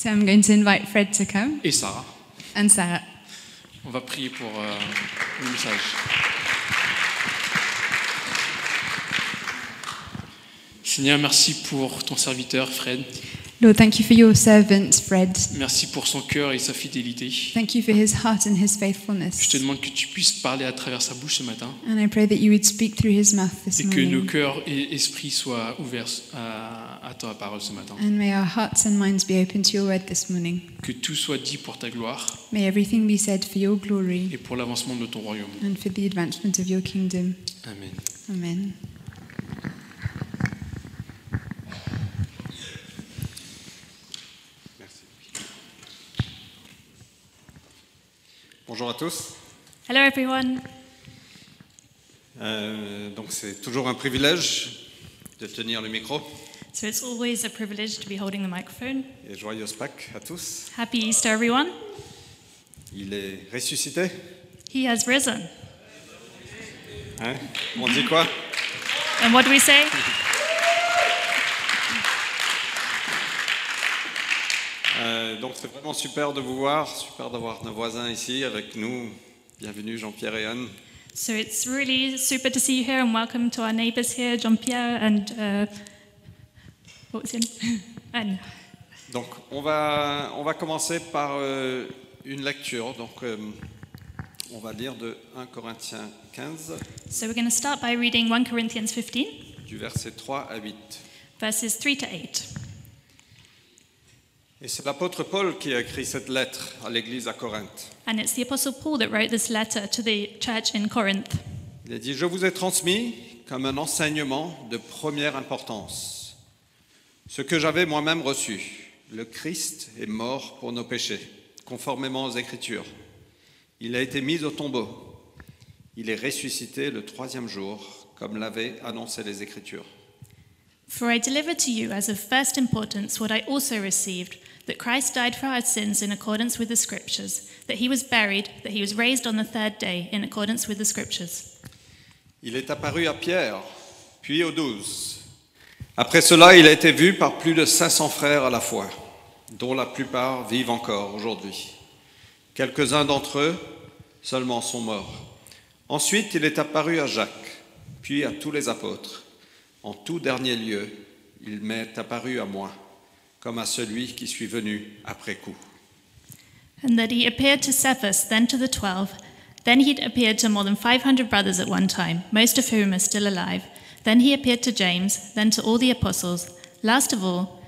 So I'm going to invite Fred to come et Sarah. and Sarah. On va prier pour le message. Seigneur, merci pour ton serviteur Fred. Lord, thank you for your servant, Fred. Merci pour son cœur et sa fidélité. Thank you for his heart and his Je faithfulness. te demande que tu puisses parler à travers sa bouche ce matin And I pray that you would speak through his mouth this et que nos morning. cœurs et esprits soient ouverts à ta parole ce matin. And may our hearts and minds be open to your word this morning. Que tout soit dit pour ta gloire May everything be said for your glory et pour l'avancement de ton royaume. and for the advancement of your kingdom. Amen. Amen. Bonjour à tous. Hello, everyone. Donc c'est toujours un privilège de tenir le micro. So it's always a privilege to be holding the microphone. Et joyeuse Pâques à tous. Happy Easter, everyone. Il est ressuscité. He has risen. Hein? On dit quoi? And what do we say? Donc c'est vraiment super de vous voir, super d'avoir nos voisins ici avec nous. Bienvenue Jean-Pierre et Anne. So it's really super to see you here, and welcome to our neighbours here, Jean-Pierre and what was his name? Anne. Donc on va commencer par une lecture. Donc on va lire de 1 Corinthiens 15, So we're going to start by reading 1 Corinthians 15, du verset 3 à 8. verses 3 to 8. Et c'est l'apôtre Paul qui a écrit cette lettre à l'église à Corinthe. And it's the Apostle Paul that wrote this letter to the church in Corinth. Il a dit « Je vous ai transmis comme un enseignement de première importance ce que j'avais moi-même reçu. Le Christ est mort pour nos péchés, conformément aux Écritures. Il a été mis au tombeau. Il est ressuscité le troisième jour, comme l'avaient annoncé les Écritures. For I delivered to you as of first importance what I also received, that Christ died for our sins in accordance with the Scriptures, that he was buried, that he was raised on the third day in accordance with the Scriptures. Il est apparu à Pierre, puis aux 12. Après cela, il a été vu par plus de 500 frères à la fois, dont la plupart vivent encore aujourd'hui. Quelques-uns d'entre eux seulement sont morts. Ensuite, il est apparu à Jacques, puis à tous les apôtres. En tout dernier lieu, il m'est apparu à moi, comme à celui qui suis venu après coup. And that he appeared to Cephas, then to the 12. Then he appeared to more than 500 brothers at one time, most of whom are still alive. Then he appeared to James, then to all the apostles. Last of all,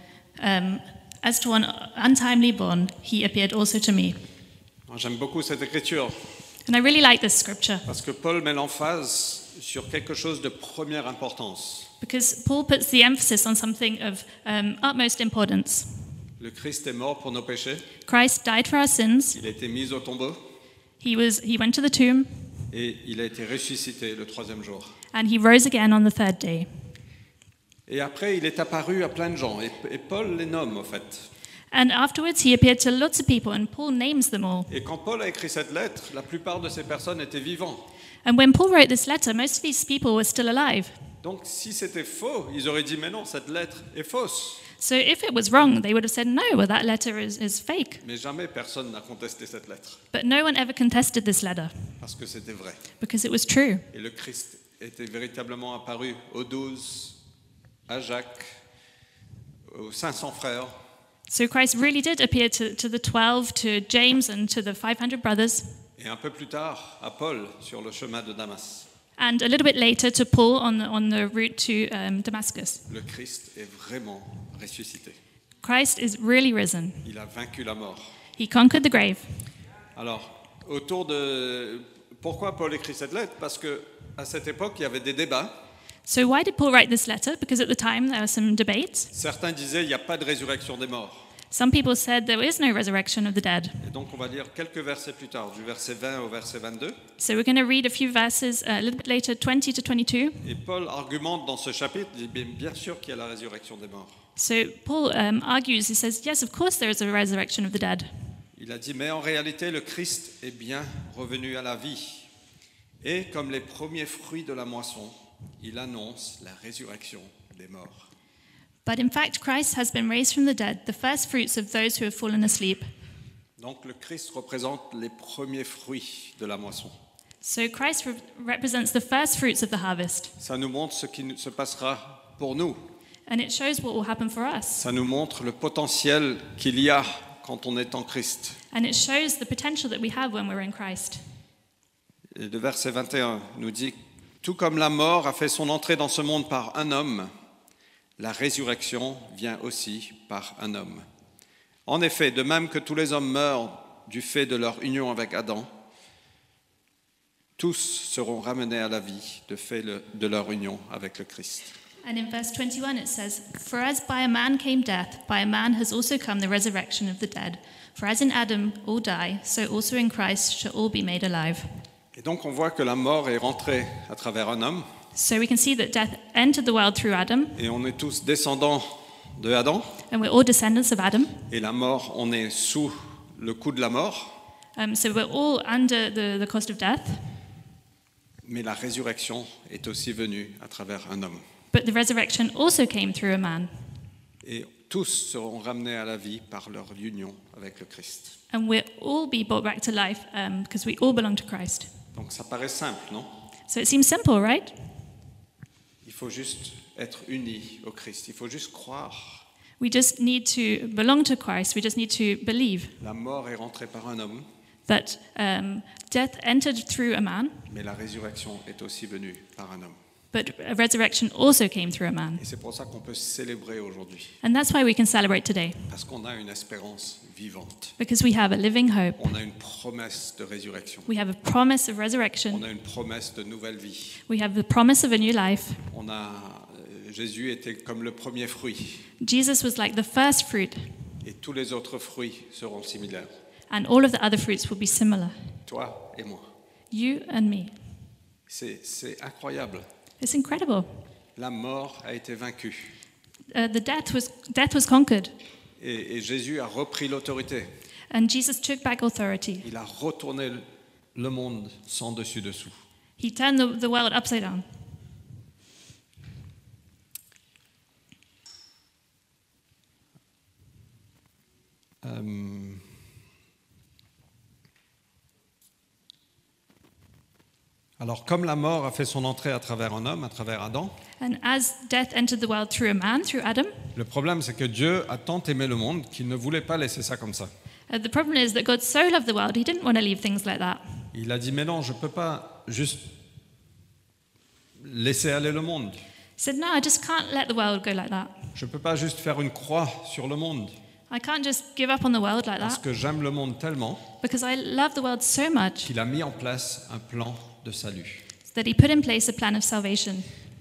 as to one untimely born, he appeared also to me. J'aime beaucoup cette écriture, And I really like this scripture parce que Paul met l'emphase sur quelque chose de première importance. because Paul puts the emphasis on something of utmost importance. Le Christ est mort pour nos péchés, Christ died for our sins. il a été mis au tombeau He went to the tomb et il a été ressuscité le troisième jour. and he rose again on the third day. Et après, il est apparu à plein de gens, et Paul les nomme en fait. And afterwards he appeared to lots of people, and Paul names them all. Et quand Paul a écrit cette lettre, la plupart de ces personnes étaient vivantes. And when Paul wrote this letter, most of these people were still alive. Donc si c'était faux, ils auraient dit « mais non, cette lettre est fausse ». So if it was wrong, they would have said, no, well, that letter is fake. Mais jamais personne n'a contesté cette lettre, But no one ever contested this letter parce que c'était vrai. because it was true. Et le Christ était véritablement apparu aux 12, à Jacques, aux 500 frères. So Christ really did appear to the 12, to James, and to the 500 brothers, Et un peu plus tard, à Paul, sur le chemin de Damas. and a little bit later to Paul on the route to Damascus. Le Christ est vraiment ressuscité. Christ is really risen. Il a vaincu la mort. He conquered the grave. Alors, autour de... Pourquoi Paul écrit cette lettre? Parce qu'à cette époque, il y avait des débats. So why did Paul write this letter? Because at the time there were some debates. Certains disaient il n'y a pas de résurrection des morts. Some people said there is no resurrection of the dead. Et donc, on va lire quelques versets plus tard, du verset 20 au verset 22. So we're going to read a few verses a little bit later, 20 to 22. Et Paul argumente dans ce chapitre, il dit bien sûr qu'il y a la résurrection des morts. So Paul argues, he says, yes, of course there is a resurrection of the dead. Il a dit, mais en réalité, le Christ est bien revenu à la vie. Et comme les premiers fruits de la moisson, il annonce la résurrection des morts. But in fact, Christ has been raised from the dead, the first fruits of those who have fallen asleep. Donc le Christ représente les premiers fruits de la moisson. So Christ represents the first fruits of the harvest, Ça nous montre ce qui se passera pour nous. and it shows what will happen for us. Ça nous montre le potentiel qu'il y a quand on est en Christ. And it shows the potential that we have when we're in Christ. Et le verset 21 nous dit « Tout comme la mort a fait son entrée dans ce monde par un homme, la résurrection vient aussi par un homme. En effet, de même que tous les hommes meurent du fait de leur union avec Adam, tous seront ramenés à la vie de fait de leur union avec le Christ. » And in verse 21 it says, For as by a man came death, by a man has also come the resurrection of the dead. For as in Adam all die, so also in Christ shall all be made alive. Et donc on voit que la mort est rentrée à travers un homme, So we can see that death entered the world through Adam, et on est tous descendants de Adam, and we're all descendants of Adam. et la mort, on est sous le coup de la mort, So we're all under the cost of death. mais la résurrection est aussi venue à travers un homme. But the resurrection also came through a man. Et tous seront ramenés à la vie par leur union avec le Christ. And we'll all be brought back to life because we all belong to Christ. Donc ça paraît simple, non? So it seems simple, right? Il faut juste être unis au Christ, il faut juste croire. We just need to belong to Christ. We just need to believe La mort est rentrée par un homme, that death entered through a man, mais la résurrection est aussi venue par un homme. but a resurrection also came through a man. Et c'est pour ça qu'on peut célébrer aujourd'hui, And that's why we can celebrate today, parce qu'on a une espérance vivante. because we have a living hope. On a une promesse de résurrection. We have a promise of On resurrection. a une promesse de nouvelle vie. We have the promise of a new life. Jésus était comme le premier fruit, Jesus was like the first fruit, et tous les autres fruits seront similaires. and all of the other fruits will be similar. Toi et moi. You and me. C'est incroyable. It's incredible. La mort a été vaincue. The death was conquered, Et Jésus a repris l'autorité. and Jesus took back authority. Il a retourné le monde sans dessus-dessous. He turned the world upside down. Alors, comme la mort a fait son entrée à travers un homme, à travers Adam, And as death entered the world through a man, through Adam, le problème c'est que Dieu a tant aimé le monde qu'il ne voulait pas laisser ça comme ça. the problem is that God so loved the world, he didn't want to leave things like that. Il a dit, mais non, je ne peux pas juste laisser aller le monde. He said, no, I just can't let the world go like that. Je ne peux pas juste faire une croix sur le monde, I can't just give up on the world like parce that, que j'aime le monde tellement because I love the world so much qu'il a mis en place un plan de salut. that he put in place a plan of salvation.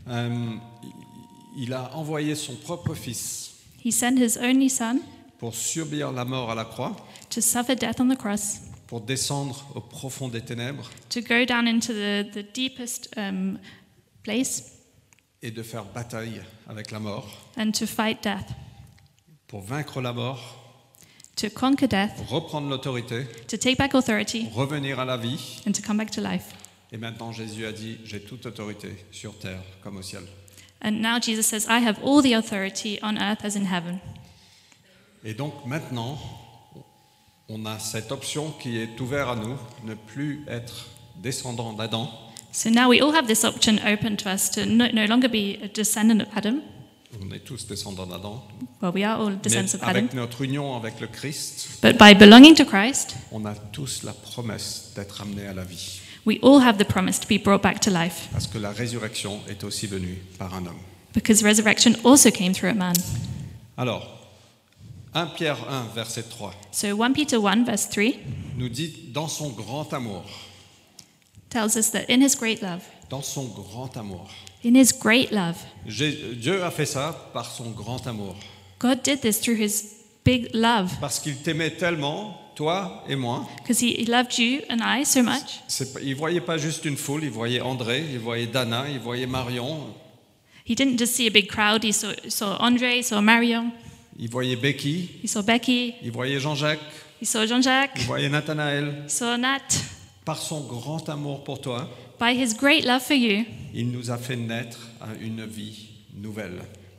Il a envoyé son propre fils He sent his only son pour subir la mort à la croix, to suffer death on the cross, pour descendre au profond des ténèbres to go down into the deepest place et de faire bataille avec la mort, and to fight death, pour vaincre la mort, to conquer death, reprendre l'autorité, to take back authority, revenir à la vie. and to come back to life. Et maintenant Jésus a dit, j'ai toute autorité sur terre comme au ciel. And now Jesus says, I have all the authority on earth as in heaven. Et donc maintenant, on a cette option qui est ouverte à nous, ne plus être descendant d'Adam, So now we all have this option open to us to no longer be a descendant of Adam. on est tous descendants d'Adam, Well, we are all mais descendants of Adam. avec notre union avec le Christ, But by belonging to Christ, on a tous la promesse d'être amenés à la vie. we all have the promise to be brought back to life. Parce que la résurrection est aussi venue par un homme. Because resurrection also came through a man. Alors, 1 Pierre 1, verset 3, So 1 Peter 1 verse 3 nous dit, dans son grand amour, tells us that in his great love, dans son grand amour. in his great love, Dieu a fait ça par son grand amour. God did this through his big love. Parce qu'il t'aimait tellement, toi et moi. Because he loved you and I so much. Il ne voyait pas juste une foule, il voyait André, il voyait Dana, il voyait Marion, He didn't just see a big crowd, he saw Andre, he saw Marion, il voyait Becky, he saw Becky, il voyait Jean-Jacques, he saw Jean-Jacques, il voyait Nathanaël. he saw Nat. Par son grand amour pour toi, By his great love for you, il nous a fait naître à une vie nouvelle.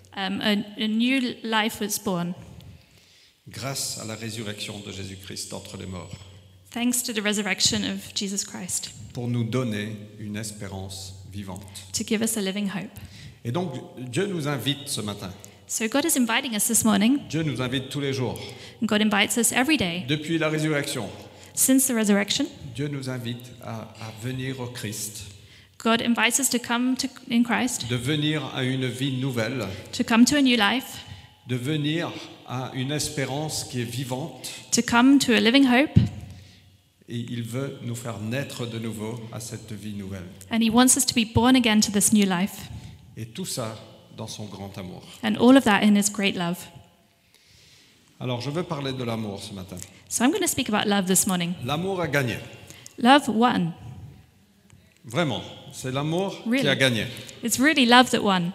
a new life was born, grâce à la résurrection de Jésus-Christ d'entre les morts, thanks to the resurrection of Jesus Christ, pour nous donner une espérance vivante. to give us a living hope. Et donc, Dieu nous invite ce matin. So God is inviting us this morning. Dieu nous invite tous les jours. And God invites us every day. Depuis la résurrection, Since the resurrection, Dieu nous invite à venir au Christ, God invites us to come in Christ, de venir à une vie nouvelle, to come to a new life, de venir à une espérance qui est vivante. to come to a living hope, Et il veut nous faire naître de nouveau à cette vie nouvelle. and He wants us to be born again to this new life. Et tout ça dans son grand amour. And all of that in His great love. Alors, je veux parler de l'amour ce matin. So I'm going to speak about love this morning. L'amour a gagné. Love won. Vraiment, c'est l'amour qui Really? a gagné. It's really love that won.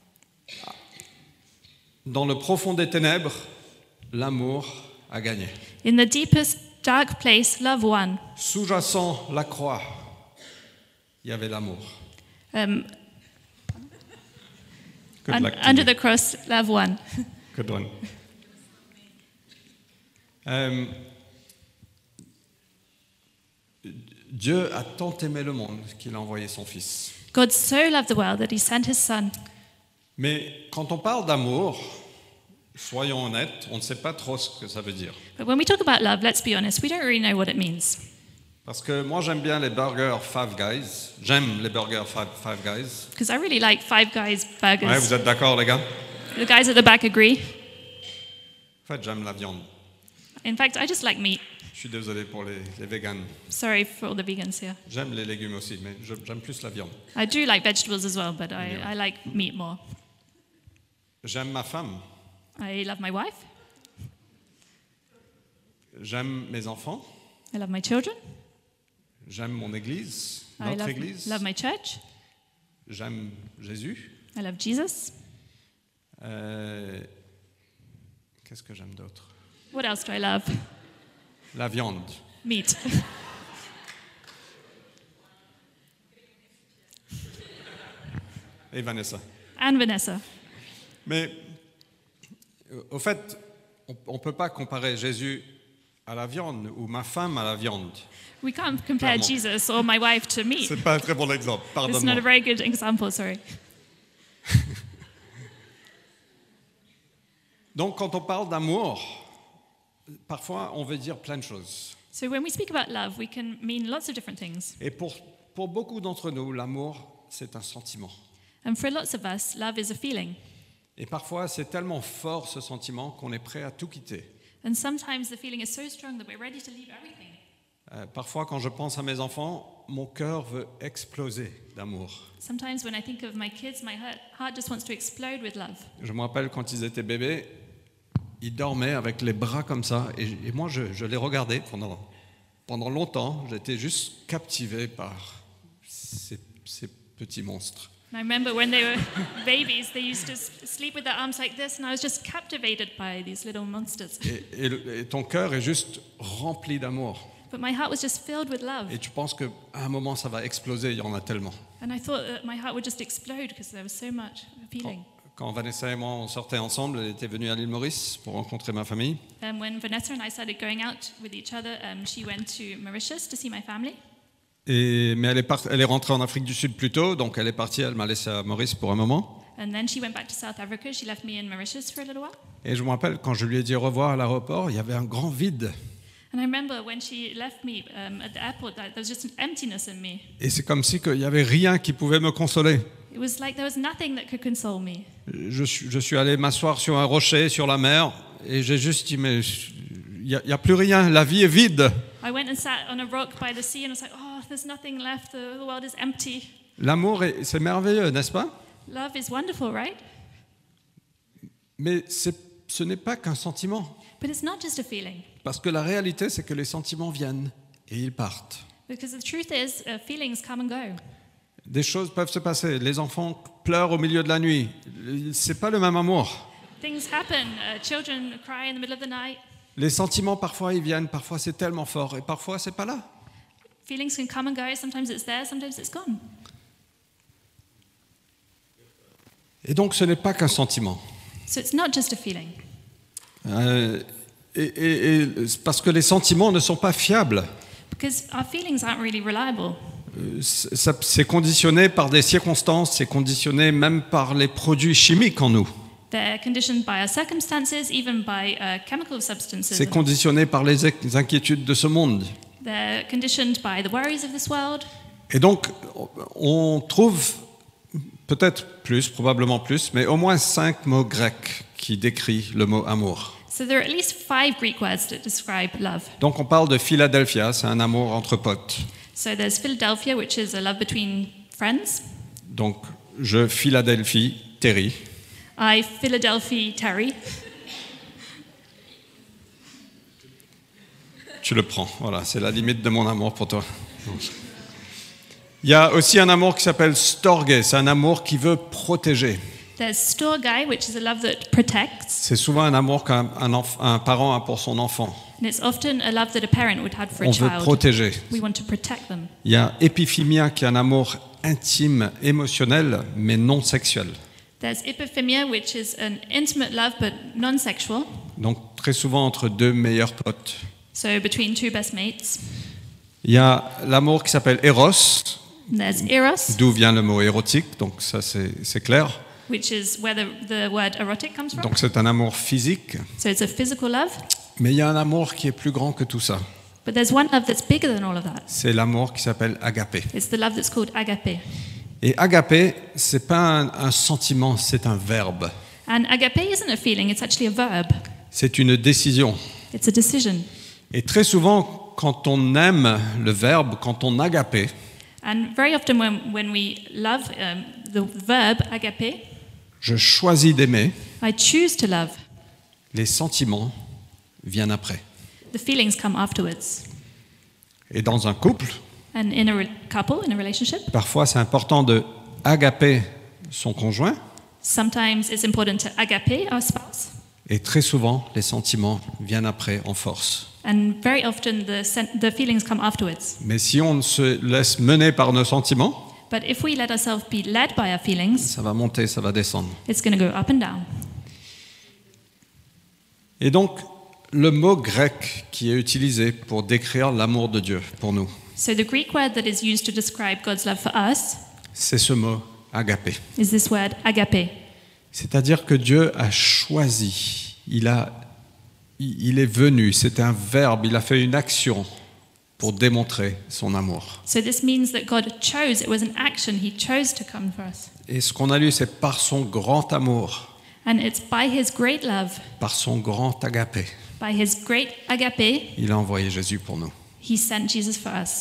Dans le profond des ténèbres, l'amour a gagné. In the deepest dark place, love won. Sous-jacent la croix, il y avait l'amour. Good luck to Under you. the cross, love won. Good one. Dieu a tant aimé le monde qu'il a envoyé son Fils. God so loved the world that He sent His Son. Mais quand on parle d'amour, soyons honnêtes, on ne sait pas trop ce que ça veut dire. But when we talk about love, let's be honest, we don't really know what it means. Parce que moi j'aime bien les burgers Five Guys. J'aime les burgers Five Guys. Because I really like Five Guys burgers. Ouais, vous êtes d'accord les gars? The guys at the back agree. En fait, j'aime la viande. In fact, I just like meat. Je suis désolé pour les véganes. Sorry for all the vegans here. J'aime les légumes aussi, mais j'aime plus la viande. I do like vegetables as well, but I like meat more. J'aime ma femme. I love my wife. J'aime mes enfants. I love my children. J'aime mon église, I notre église. love my church. J'aime Jésus. I love Jesus. Qu'est-ce que j'aime d'autre? What else do I love? La viande. Meat. Et Vanessa. And Vanessa. Mais au fait, on ne peut pas comparer Jésus à la viande ou ma femme à la viande. We can't compare Clairement. Jesus or my wife to meat. C'est pas un très bon exemple, It's not a pardonne-moi. very good example, sorry. Donc quand on parle d'amour, parfois on veut dire plein de choses. So when we speak about love, we can mean lots of different things. Et pour beaucoup d'entre nous, l'amour, c'est un sentiment. And for lots of us, love is a feeling. Et parfois, c'est tellement fort ce sentiment qu'on est prêt à tout quitter. And sometimes the feeling is so strong that we're ready to leave everything. Parfois, quand je pense à mes enfants, mon cœur veut exploser d'amour. Sometimes when I think of my kids, my heart just wants to explode with love. Je me rappelle quand ils étaient bébés, ils dormaient avec les bras comme ça, et moi je les regardais pendant longtemps. J'étais juste captivé par ces petits monstres. And I remember when they were babies, they used to sleep with their arms like this, and I was just captivated by these little monsters. Et ton cœur est juste rempli d'amour. But my heart was just filled with love. Et tu penses qu'à un moment ça va exploser, il y en a tellement. And I thought that my heart would just explode because there was so much feeling. Quand Vanessa et moi on sortait ensemble, elle était venue à l'île Maurice pour rencontrer ma famille. And when Vanessa and I started going out with each other, she went to Mauritius to see my family. Mais elle est rentrée en Afrique du Sud plus tôt, donc elle est partie, elle m'a laissé à Maurice pour un moment. And then she went back to South Africa. She left me in Mauritius for a little while. Et je me rappelle, quand je lui ai dit au revoir à l'aéroport, il y avait un grand vide. And I remember when she left me at the airport, there was just an emptiness in me. Et c'est comme si il n'y avait rien qui pouvait me consoler. It was like there was nothing that could console me. Je suis allé m'asseoir sur un rocher, sur la mer, et j'ai juste dit, mais il n'y a plus rien, la vie est vide. I went and sat on a rock by the sea and I was like, oh, there's nothing left. The world is empty. L'amour, c'est merveilleux, n'est-ce pas? Love is wonderful, right? Mais ce n'est pas qu'un sentiment. But it's not just a feeling. Parce que la réalité, c'est que les sentiments viennent et ils partent. Because the truth is, feelings come and go. Des choses peuvent se passer. Les enfants pleurent au milieu de la nuit. C'est pas le même amour. Things happen. Children cry in the middle of the night. Les sentiments, parfois, ils viennent. Parfois, c'est tellement fort. Et parfois, c'est pas là. Feelings can come and go. Sometimes it's there, sometimes it's gone. Et donc ce n'est pas qu'un sentiment. So it's not just a feeling. Et parce que les sentiments ne sont pas fiables. Because our feelings aren't really reliable. C'est conditionné par des circonstances, c'est conditionné même par les produits chimiques en nous. They're conditioned by our circumstances, even by chemical substances. C'est conditionné par les inquiétudes de ce monde. They're conditioned by the worries of this world. Et donc, on trouve peut-être plus, probablement plus, mais au moins 5 mots grecs qui décrivent le mot amour. So there are at least 5 Greek words that describe love. Donc on parle de Philadelphia, c'est un amour entre potes. So there's Philadelphia, which is a love between friends. Donc je Philadelphie Terry. I Philadelphia Terry. Tu le prends, voilà, c'est la limite de mon amour pour toi. Il y a aussi un amour qui s'appelle storge, c'est un amour qui veut protéger. There's storge, which is a love that protects. C'est souvent un amour qu'un parent a pour son enfant. And it's often a love that a parent would have for a On veut child. protéger. We want to protect them. Il y a épiphymia qui est un amour intime, émotionnel, mais non sexuel. There's epiphymia, which is an intimate love but non-sexual. Donc très souvent entre 2 meilleurs potes. So between 2 best mates. Il y a l'amour qui s'appelle Eros, And there's eros, d'où vient le mot érotique, donc ça c'est clair. which is where the word erotic comes from. Donc c'est un amour physique, So it's a physical love. mais il y a un amour qui est plus grand que tout ça. But there's one love that's bigger than all of that. C'est l'amour qui s'appelle agapé. It's the love that's called agape. Et agapé, c'est pas un sentiment, c'est un verbe. And agape isn't a feeling, it's actually a verb. C'est une décision. It's a decision. Et très souvent, quand on aime le verbe, quand on agapé, And very often when we love the verb agape, je choisis d'aimer, I choose to love. les sentiments viennent après. The feelings come afterwards. Et dans un couple, And in a couple, in a relationship, parfois c'est important de agaper son conjoint, sometimes it's important to agape our spouse. et très souvent, les sentiments viennent après en force. And very often the feelings come afterwards. Mais si on se laisse mener par nos sentiments, But if we let ourselves be led by our feelings, ça va monter, ça va descendre. it's going to go up and down. Et donc, le mot grec qui est utilisé pour décrire l'amour de Dieu pour nous, So the Greek word that is used to describe God's love for us c'est ce mot agapé. is this word agape. C'est-à-dire que Dieu a choisi, il est venu, c'est un verbe, il a fait une action pour démontrer son amour. So this means that God chose, it was an action, He chose to come for us. Et ce qu'on a lu, c'est par son grand amour, And it's by His great love, par son grand agapé, by His great agape, il a envoyé Jésus pour nous. He sent Jesus for us.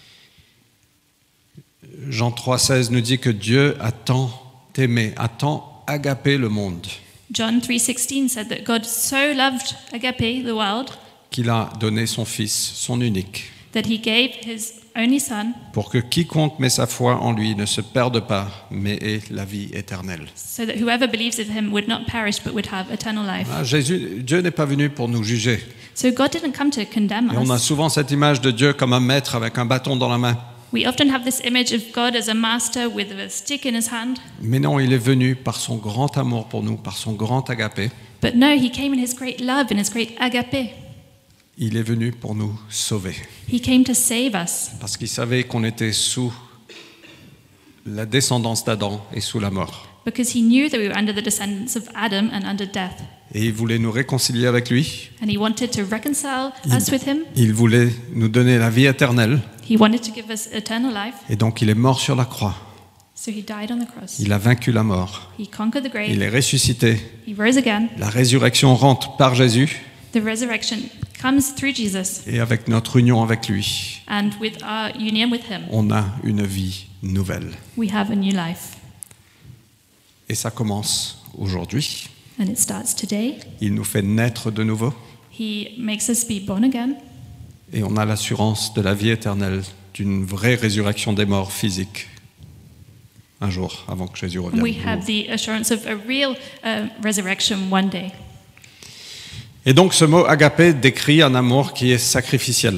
Jean 3,16 nous dit que Dieu a tant aimé, a tant agapé le monde, John 3:16 said that God so loved agape, the world, qu'il a donné son Fils, son unique, that He gave His only Son, pour que quiconque met sa foi en lui ne se perde pas, mais ait la vie éternelle. so that whoever believes in Him would not perish but would have eternal life. Dieu n'est pas venu pour nous juger. So God didn't come to condemn Et on a us. souvent cette image de Dieu comme un maître avec un bâton dans la main. We often have this image of God as a master with a stick in His hand. Mais non, il est venu par son grand amour pour nous, par son grand agapé. But no, He came in His great love, in His great agape. Il est venu pour nous sauver. He came to save us Parce qu'il savait qu'on était sous la descendance d'Adam et sous la mort. because He knew that we were under the descendants of Adam and under death. Et il voulait nous réconcilier avec lui. And He wanted to reconcile us with Him. Il voulait nous donner la vie éternelle. He wanted to give us eternal life. Et donc il est mort sur la croix. So He died on the cross. Il a vaincu la mort. He conquered the grave. Il est ressuscité. He rose again. La résurrection rentre par Jésus. The resurrection comes through Jesus. Et avec notre union avec lui, And with our union with Him, on a une vie nouvelle. we have a new life. Et ça commence aujourd'hui. And it starts today. Il nous fait naître de nouveau. He makes us be born again. Et on a l'assurance de la vie éternelle, d'une vraie résurrection des morts physique. Un jour, avant que Jésus revienne. We have the assurance of a real resurrection one day. Et donc ce mot agapé décrit un amour qui est sacrificiel.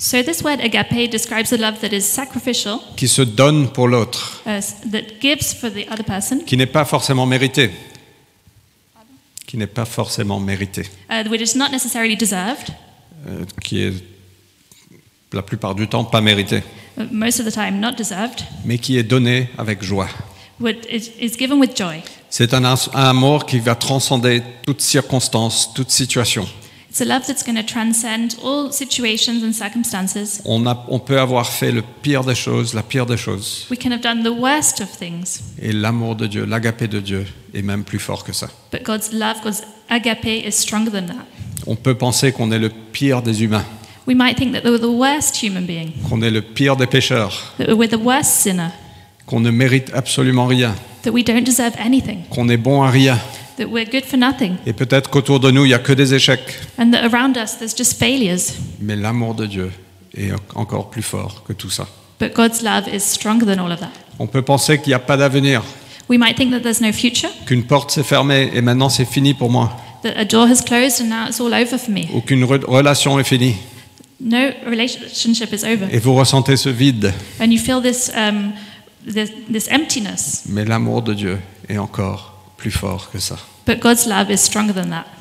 So this word agape describes a love that is sacrificial, qui se donne pour l'autre, that gives for the other person, qui n'est pas forcément mérité. Qui n'est pas forcément mérité. which is not necessarily deserved, Qui est la plupart du temps pas mérité, most of the time not deserved, mais qui est donné avec joie. is given with joy. C'est un amour qui va transcender toute circonstance, toute situation. It's a love that's going to transcend all situations and circumstances. On peut avoir fait le pire des choses, la pire des choses. We can have done the worst of things, Et l'amour de Dieu, l'agapé de Dieu, est même plus fort que ça. but God's love, God's agape, is stronger than that. On peut penser qu'on est le pire des humains, We might think that we're the worst human being, qu'on est le pire des pécheurs, that we're the worst sinner, qu'on ne mérite absolument rien, that we don't deserve anything, qu'on est bon à rien. that we're good for nothing, Et peut-être qu'autour de nous, il n'y a que des échecs. and that around us there's just failures. Mais l'amour de Dieu est encore plus fort que tout ça. But God's love is stronger than all of that. On peut penser qu'il n'y a pas d'avenir, We might think that there's no future, qu'une porte s'est fermée et maintenant c'est fini pour moi, that a door has closed and now it's all over for me. ou qu'une relation est finie. No relationship is over. Et vous ressentez ce vide. And you feel this emptiness. Mais l'amour de Dieu est encore plus fort que ça. But God's love is stronger than that.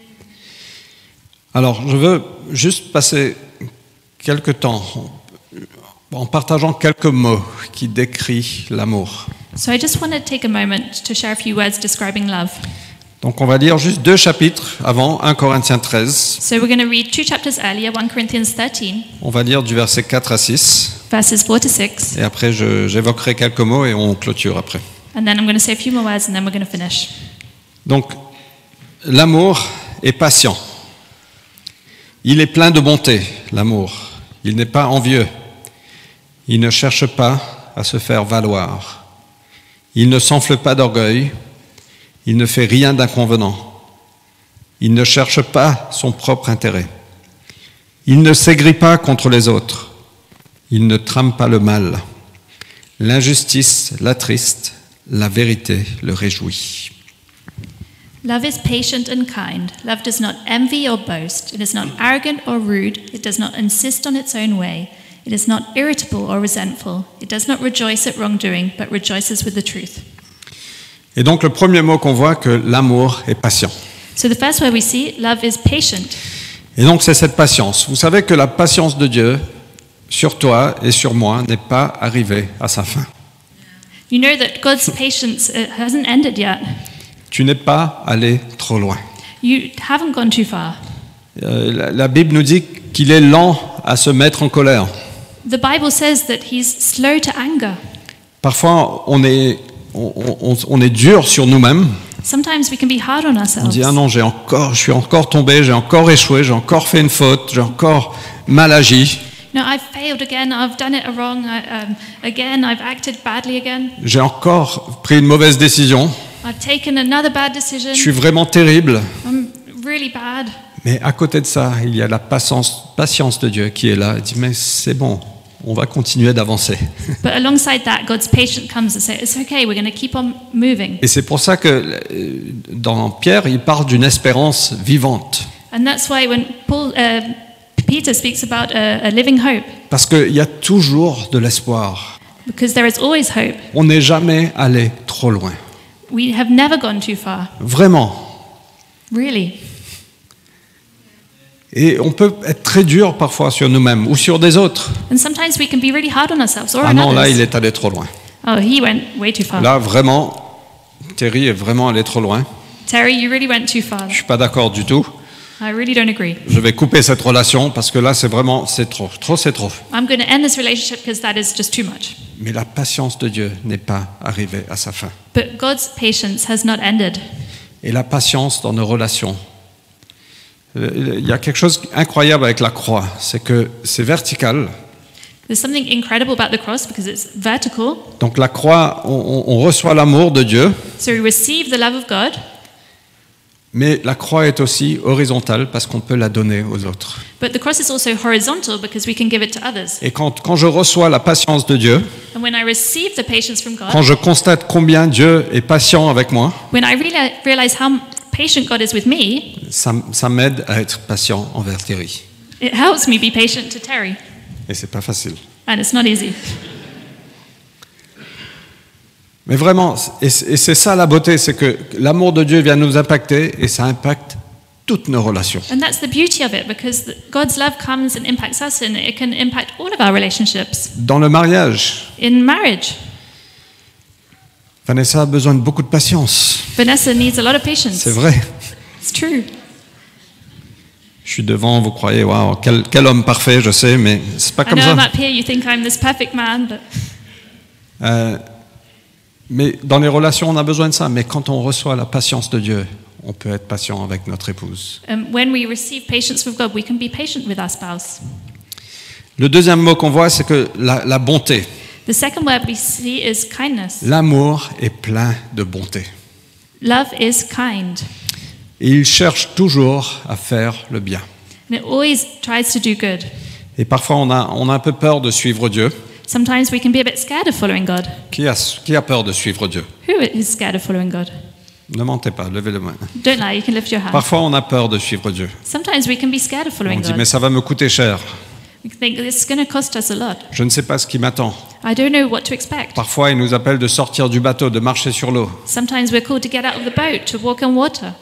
Alors, je veux juste passer quelques temps en partageant quelques mots qui décrivent l'amour. So I just want to take a moment to share a few words describing love. Donc, on va lire juste 2 chapitres avant 1 Corinthiens 13. So we're going to read 2 chapters earlier, 1 Corinthians 13, On va lire du verset 4 à 6. verses 4 to 6. Et après, j'évoquerai quelques mots et on clôture après. And then I'm going to say a few more words and then we're going to finish. Donc, l'amour est patient. Il est plein de bonté, l'amour. Il n'est pas envieux. Il ne cherche pas à se faire valoir. Il ne s'enfle pas d'orgueil. Il ne fait rien d'inconvenant. Il ne cherche pas son propre intérêt. Il ne s'aigrit pas contre les autres. Il ne trame pas le mal. L'injustice l'attriste, la vérité le réjouit. Love is patient and kind. Love does not envy or boast. It is not arrogant or rude. It does not insist on its own way. It is not irritable or resentful. It does not rejoice at wrongdoing, but rejoices with the truth. Et donc le premier mot qu'on voit, que l'amour est patient. So the first word we see, love is patient. Et donc c'est cette patience. Vous savez que la patience de Dieu sur toi et sur moi n'est pas arrivée à sa fin. You know that God's patience hasn't ended yet. Tu n'es pas allé trop loin. You haven't gone too far. La Bible nous dit qu'il est lent à se mettre en colère. The Bible says that he's slow to anger. Parfois on est dur sur nous-mêmes. Sometimes we can be hard on On ourselves. dit ah non, je suis encore tombé, j'ai encore échoué, j'ai encore fait une faute, j'ai encore mal agi. No, I've failed again. I've done it wrong. Again, I've acted badly again. J'ai encore pris une mauvaise décision. I've taken another bad decision. Je suis vraiment terrible. I'm really bad. Mais à côté de ça, il y a la patience de Dieu qui est là. Il dit, mais c'est bon, on va continuer d'avancer. But alongside that, God's patience comes and says, it's okay, we're going to keep on moving. Et c'est pour ça que dans Pierre, il parle d'une espérance vivante. And that's why when Peter speaks about a living hope, Parce qu'il y a toujours de l'espoir. because there is always hope. On n'est jamais allé trop loin. We have never gone too far, Vraiment. really. Et on peut être très dur parfois sur nous-mêmes ou sur des autres. And sometimes we can be really hard on ourselves or Ah on non, là, others. il est allé trop loin. Oh, he went way too far. Là, vraiment, Terry est vraiment allé trop loin. Terry, you really went too far. Je suis pas d'accord du tout. I really don't agree. Je vais couper cette relation parce que là, c'est vraiment, c'est trop. Trop, c'est trop. I'm going to end this relationship because that is just too much. Mais la patience de Dieu n'est pas arrivée à sa fin. But God's patience has not ended. Et la patience dans nos relations. Il y a quelque chose d'incroyable avec la croix, c'est que c'est vertical. There's something incredible about the cross because it's vertical. Donc la croix, on reçoit l'amour de Dieu, So we receive the love of God, mais la croix est aussi horizontale parce qu'on peut la donner aux autres. but the cross is also horizontal because we can give it to others. Et quand je reçois la patience de Dieu, And when I receive the patience from quand God, je constate combien Dieu est patient avec moi, when I realize how patient God is with me, ça m'aide à être patient envers Thierry. it helps me be patient to Terry. Et c'est pas facile. and it's not easy. Mais vraiment, et c'est ça la beauté, c'est que l'amour de Dieu vient nous impacter et ça impacte toutes nos relations. And that's the beauty of it, because God's love comes and impacts us, and it can impact all of our relationships. Dans le mariage, In marriage, Vanessa a besoin de beaucoup de patience. Vanessa needs a lot of patience. C'est vrai. It's true. Je suis devant, vous croyez, waouh, quel homme parfait, je sais, mais c'est pas I comme know I'm ça. up here, you think I'm this perfect man, but Mais dans les relations, on a besoin de ça. Mais quand on reçoit la patience de Dieu, on peut être patient avec notre épouse. when we receive patience from God, we can be patient with our spouse. Le deuxième mot qu'on voit, c'est que la bonté. The second word we see is kindness. L'amour est plein de bonté. Love is kind, Et il cherche toujours à faire le bien. and it always tries to do good. Et parfois, on a un peu peur de suivre Dieu. Sometimes we can be a bit scared of following God. Qui a peur de suivre Dieu? Who is scared of following God? Ne mentez pas, levez le main. Don't lie, you can lift your hand. Parfois, on a peur de suivre Dieu. Sometimes we can be scared of On following dit, God. mais ça va me coûter cher. We think it's going to cost us a lot. Je ne sais pas ce qui m'attend. I don't know what to expect. Parfois, il nous appelle de sortir du bateau, de marcher sur l'eau. Sometimes we're called to get out of the boat, to walk on water.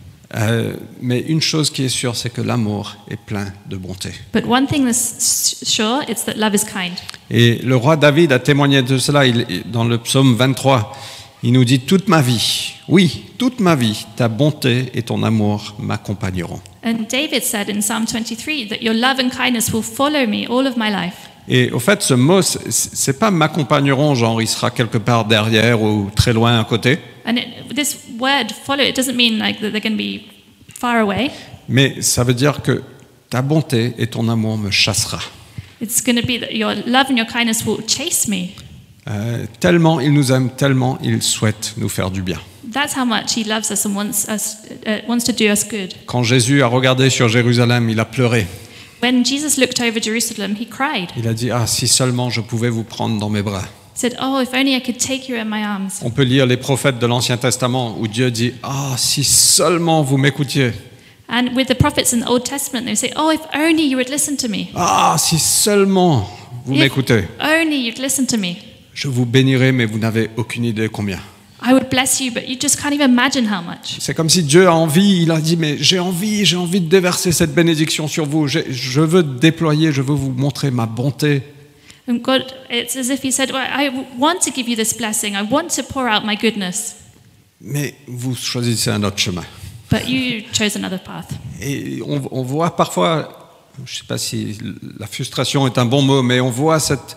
Mais une chose qui est sûre, c'est que l'amour est plein de bonté. But one thing that's sure, it's that love is kind. Et le roi David a témoigné de cela dans le psaume 23. Il nous dit, toute ma vie, oui, toute ma vie, ta bonté et ton amour m'accompagneront. And David said in Psalm 23 that your love and kindness will follow me all of my life. Et au fait, ce mot, c'est pas m'accompagneront, genre il sera quelque part derrière ou très loin à côté. And this word follow, it doesn't mean like that they're going to be far away. Mais ça veut dire que ta bonté et ton amour me chassera. It's going to be that your love and your kindness will chase me. Tellement il nous aime, tellement il souhaite nous faire du bien. That's how much he loves us and wants to do us good. Quand Jésus a regardé sur Jérusalem, il a pleuré. When Jesus looked over Jerusalem, he cried. Il a dit, ah, si seulement je pouvais vous prendre dans mes bras. He said, "Oh, if only I could take you in my arms." On peut lire les prophètes de l'Ancien Testament où Dieu dit, ah, si seulement vous m'écoutiez. And with the prophets in the Old Testament, they say, "Oh, if only you would listen to me. Ah, si seulement vous If m'écoutez. only you'd listen to me. Je vous bénirai, mais vous n'avez aucune idée combien. I would bless you, but you just can't even imagine how much." C'est comme si Dieu a envie, il a dit, mais j'ai envie de déverser cette bénédiction sur vous. Je veux déployer, je veux vous montrer ma bonté. And God, it's as if he said, well, I want to give you this blessing. I want to pour out my goodness. Mais vous choisissez un autre chemin. But you chose another path. Et on voit parfois, je ne sais pas si la frustration est un bon mot, mais on voit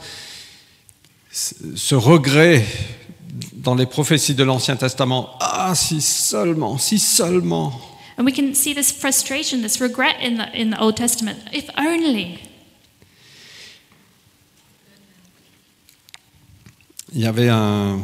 ce regret dans les prophéties de l'Ancien Testament. Ah, si seulement, si seulement. And we can see this frustration, this regret in the Old Testament. If only. Il y avait un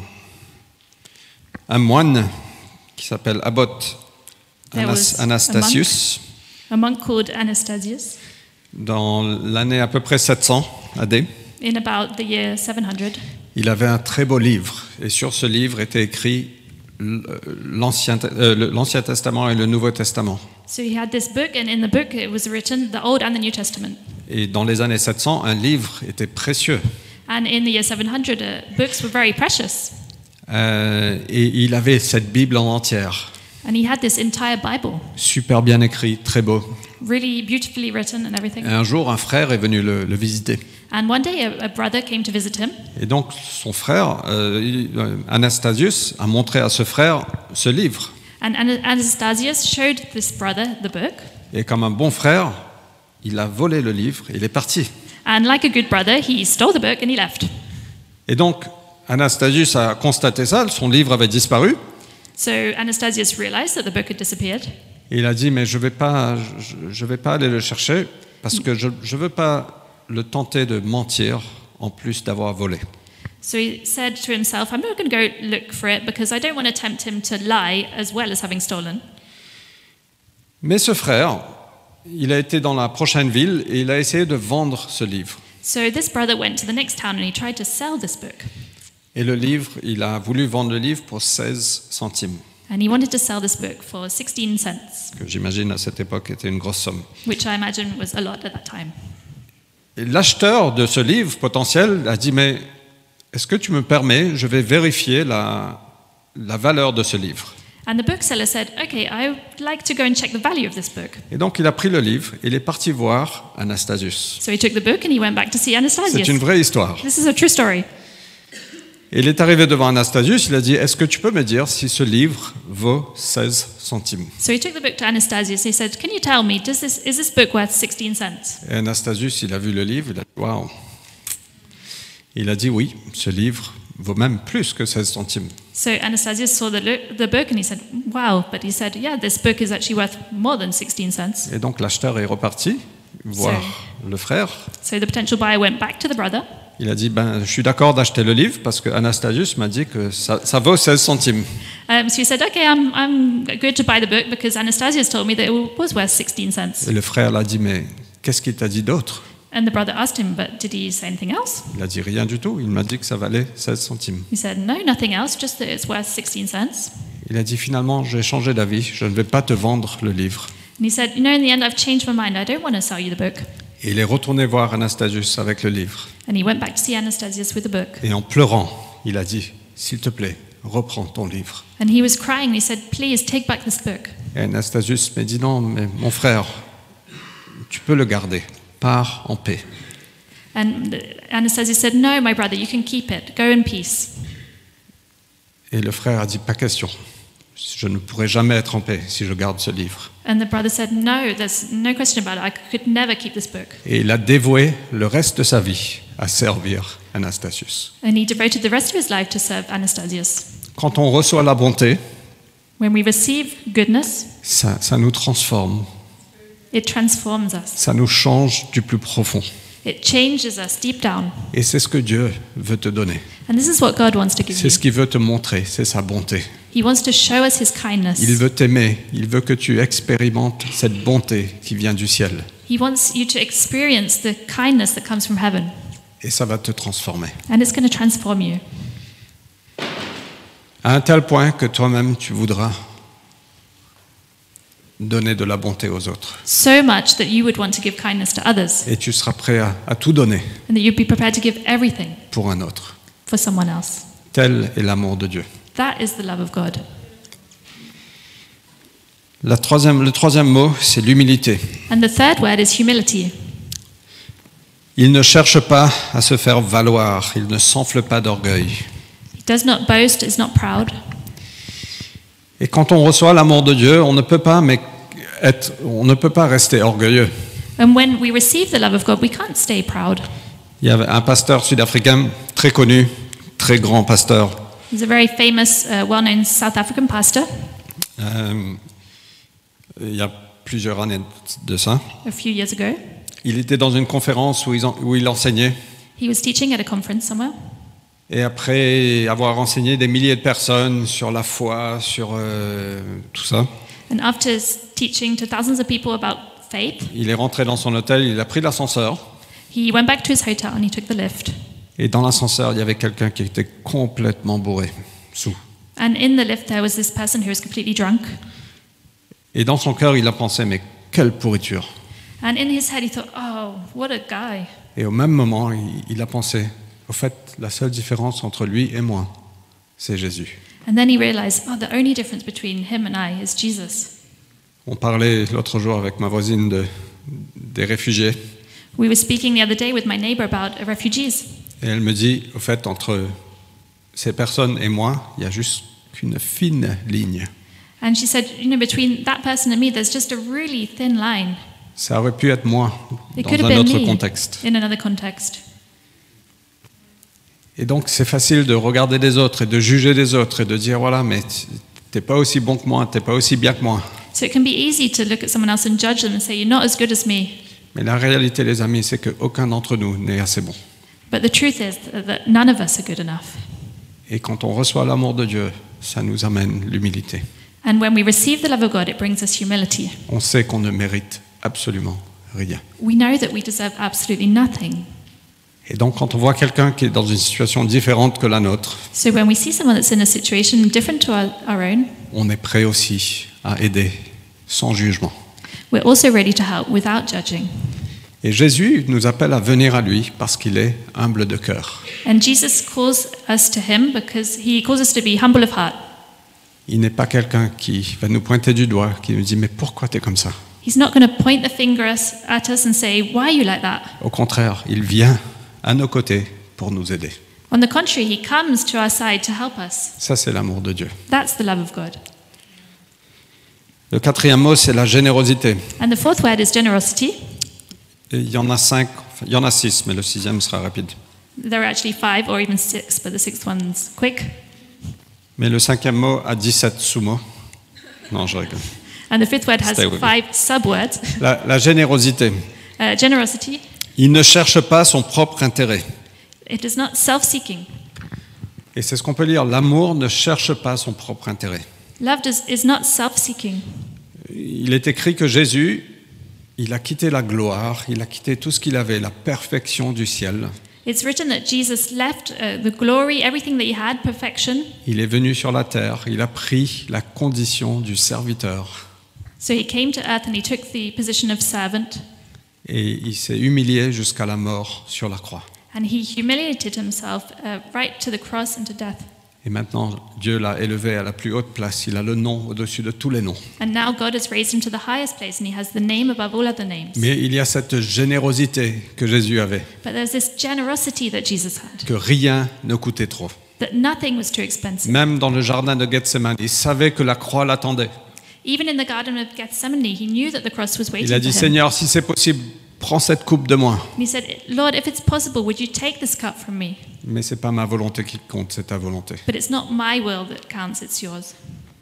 moine qui s'appelle Abbot There was Anastasius a monk called Anastasius dans l'année à peu près 700 AD. in about the year 700. Il avait un très beau livre et sur ce livre était écrit l'Ancien Testament et le Nouveau Testament. So he had this book, and in the book it was written the Old and the New Testament. Et dans les années 700, un livre était précieux. And in the year 700, books were very precious. Et il avait cette Bible en entière. And he had this entire Bible, Super bien écrit, très beau. really beautifully written and everything. Et un jour, un frère est venu le visiter. And one day a brother came to visit him. Et donc, son frère, Anastasius, a montré à ce frère ce livre. And Anastasius showed this brother the book. Et comme un bon frère, il a volé le livre et il est parti. And like a good brother, he stole the book and he left. Et donc, Anastasius a constaté ça, son livre avait disparu. So Anastasius realized that the book had disappeared. Et il a dit, mais je vais pas aller le chercher parce que je ne veux pas le tenter de mentir en plus d'avoir volé. So he said to himself, I'm not going to go look for it because I don't want to tempt him to lie as well as having stolen. Mais ce frère, il a été dans la prochaine ville et il a essayé de vendre ce livre. So this brother went to the next town and he tried to sell this book. Et le livre, il a voulu vendre le livre pour 16 centimes, And he wanted to sell this book for 16 cents, que j'imagine à cette époque était une grosse somme. which I imagine was a lot at that time. Et l'acheteur de ce livre potentiel a dit, mais est-ce que tu me permets, je vais vérifier la valeur de ce livre. And the bookseller said, okay, I would like to go and check the value of this book. Et donc il a pris le livre et il est parti voir Anastasius. So he took the book and he went back to see C'est Anastasius. une vraie histoire. This is a true story. Et il est arrivé devant Anastasius, il a dit, est-ce que tu peux me dire si ce livre vaut 16 centimes? So he took the book to Anastasius. He said, can you tell me, is this book worth 16 cents? Et Anastasius, il a vu le livre, il a dit, waouh. Il a dit, oui, ce livre vaut même plus que 16 centimes. So Anastasius saw the book and he said, wow. But he said, yeah, this book is actually worth more than 16 cents. Et donc l'acheteur est reparti voir le frère. So the potential buyer went back to the brother. Il a dit, ben, je suis d'accord d'acheter le livre parce que Anastasius m'a dit que ça vaut 16 centimes. So he said, okay, I'm good to buy the book because Anastasius told me that it was worth 16 cents. Et le frère l'a dit, mais qu'est-ce qu'il t'a dit d'autre? And the brother asked him, but did he say anything else? Il a dit rien du tout, il m'a dit que ça valait 16 centimes. He said, no, nothing else, just that it's worth 16 cents. Il a dit, finalement, j'ai changé d'avis, je ne vais pas te vendre le livre. And he said, you know, in the end, I've changed my mind. I don't want to sell you the book. Et il est retourné voir Anastasius avec le livre. And he went back to see Anastasius with the book. Et en pleurant, il a dit, s'il te plaît, reprends ton livre. And he was crying. He said, please take back this book. Et Anastasius m'a dit, non, mais mon frère, tu peux le garder, pars en paix. And Anastasius said, no, my brother, you can keep it. Go in peace. Et le frère a dit, pas question. Je ne pourrai jamais être en paix si je garde ce livre. And the brother said, no, there's no question about it. I could never keep this book. Et il a dévoué le reste de sa vie à servir Anastasius. And he devoted the rest of his life to serve Anastasius. Quand on reçoit la bonté, When we receive goodness, ça nous transforme, it transforms us. ça nous change du plus profond. It changes us deep down. Et c'est ce que Dieu veut te donner. And this is what God wants to give C'est you. ce qu'il veut te montrer, c'est sa bonté. He wants to show us his kindness. Il veut t'aimer, il veut que tu expérimentes cette bonté qui vient du ciel. He wants you to experience the kindness that comes from heaven. Et ça va te transformer. And it's going to transform you. À un tel point que toi-même tu voudras donner de la bonté aux autres. So much that you would want to give kindness to others. Et tu seras prêt à tout donner And that you'd be prepared to give everything pour un autre. for someone else. Tel est l'amour de Dieu. That is the love of God. Le troisième mot, c'est l'humilité. And the third word is humility. Il ne cherche pas à se faire valoir, il ne s'enfle pas d'orgueil. He does not boast, is not proud. Et quand on reçoit l'amour de Dieu, on ne peut pas rester orgueilleux. And when we receive the love of God, we can't stay proud. Il y avait un pasteur sud-africain très connu, très grand pasteur. He's a very famous, well-known South African pastor. Il y a plusieurs années de ça. A few years ago, Il était dans une conférence où il enseignait. he was teaching at a conference somewhere. Et après avoir enseigné des milliers de personnes sur la foi, sur tout ça, And after teaching to thousands of people about faith, il est rentré dans son hôtel, il a pris l'ascenseur. he went back to his hotel and he took the lift. Et dans l'ascenseur, il y avait quelqu'un qui était complètement bourré, sous. And in the lift, there was this person who was completely drunk. Et dans son cœur, il a pensé, mais quelle pourriture. And in his head, he thought, oh, what a guy. Et au même moment, il a pensé, au fait, la seule différence entre lui et moi, c'est Jésus. And then he realized, oh, the only difference between him and I is Jesus. On parlait l'autre jour avec ma voisine des réfugiés. We were speaking the other day with my neighbor about refugees. Et elle me dit, au fait, entre ces personnes et moi, il y a juste qu'une fine ligne. And she said, you know, between that person and me, there's just a really thin line. Ça aurait pu être moi, It could dans have un been autre me contexte. in another context. Et donc, c'est facile de regarder les autres et de juger les autres et de dire, voilà, mais t'es pas aussi bon que moi, t'es pas aussi bien que moi. So it can be easy to look at someone else and judge them and say, you're not as good as me. Mais la réalité, les amis, c'est qu'aucun d'entre nous n'est assez bon. But the truth is that none of us are good enough. Et quand on reçoit l'amour de Dieu, ça nous amène l'humilité. And when we receive the love of God, it brings us humility. On sait qu'on ne mérite absolument rien. We know that we deserve absolutely nothing. Et donc, quand on voit quelqu'un qui est dans une situation différente que la nôtre, So when we see someone that's in a situation different to our own, on est prêt aussi à aider sans jugement. we're also ready to help without judging. Et Jésus nous appelle à venir à lui parce qu'il est humble de cœur. And Jesus calls us to him because he calls us to be humble of heart. Il n'est pas quelqu'un qui va nous pointer du doigt, qui nous dit « Mais pourquoi tu es comme ça ?» He's not going to point the finger at us and say, why are you like that? Au contraire, il vient à nos côtés pour nous aider. On the contrary, he comes to our side to help us. Ça, c'est l'amour de Dieu. That's the love of God. Le quatrième mot, c'est la générosité. And the fourth word is generosity. Et il y en a 6, mais le 6e sera rapide. There are actually 5 or even 6, but the 6th one's quick. Mais le 5e mot a 17 sous-mots. Non, je rigole. And the 5th word has Stay with 5 subwords. La générosité. Generosity. Il ne cherche pas son propre intérêt. It is not self-seeking. Et c'est ce qu'on peut lire. L'amour ne cherche pas son propre intérêt. Love is not self-seeking. Il est écrit que Jésus, il a quitté la gloire, il a quitté tout ce qu'il avait, la perfection du ciel. It's written that Jesus left the glory, everything that he had, perfection. Il est venu sur la terre, il a pris la condition du serviteur. So he came to earth and he took the position of servant. Et il s'est humilié jusqu'à la mort sur la croix. And he humiliated himself right to the cross and to death. Et maintenant, Dieu l'a élevé à la plus haute place. Il a le nom au-dessus de tous les noms. And now God has raised him to the highest place and he has the name above all other names. Mais il y a cette générosité que Jésus avait, But there's this generosity that Jesus had, que rien ne coûtait trop. that nothing was too expensive. Même dans le jardin de Gethsémani, il savait que la croix l'attendait. Even in the Garden of Gethsemane, he knew that the cross was waiting Il a for dit, him. Seigneur, si c'est possible, prends cette coupe de moi. And he said, Lord, if it's possible, would you take this cup from me? Mais c'est pas ma volonté qui compte, c'est ta volonté. But it's not my will that counts, it's yours.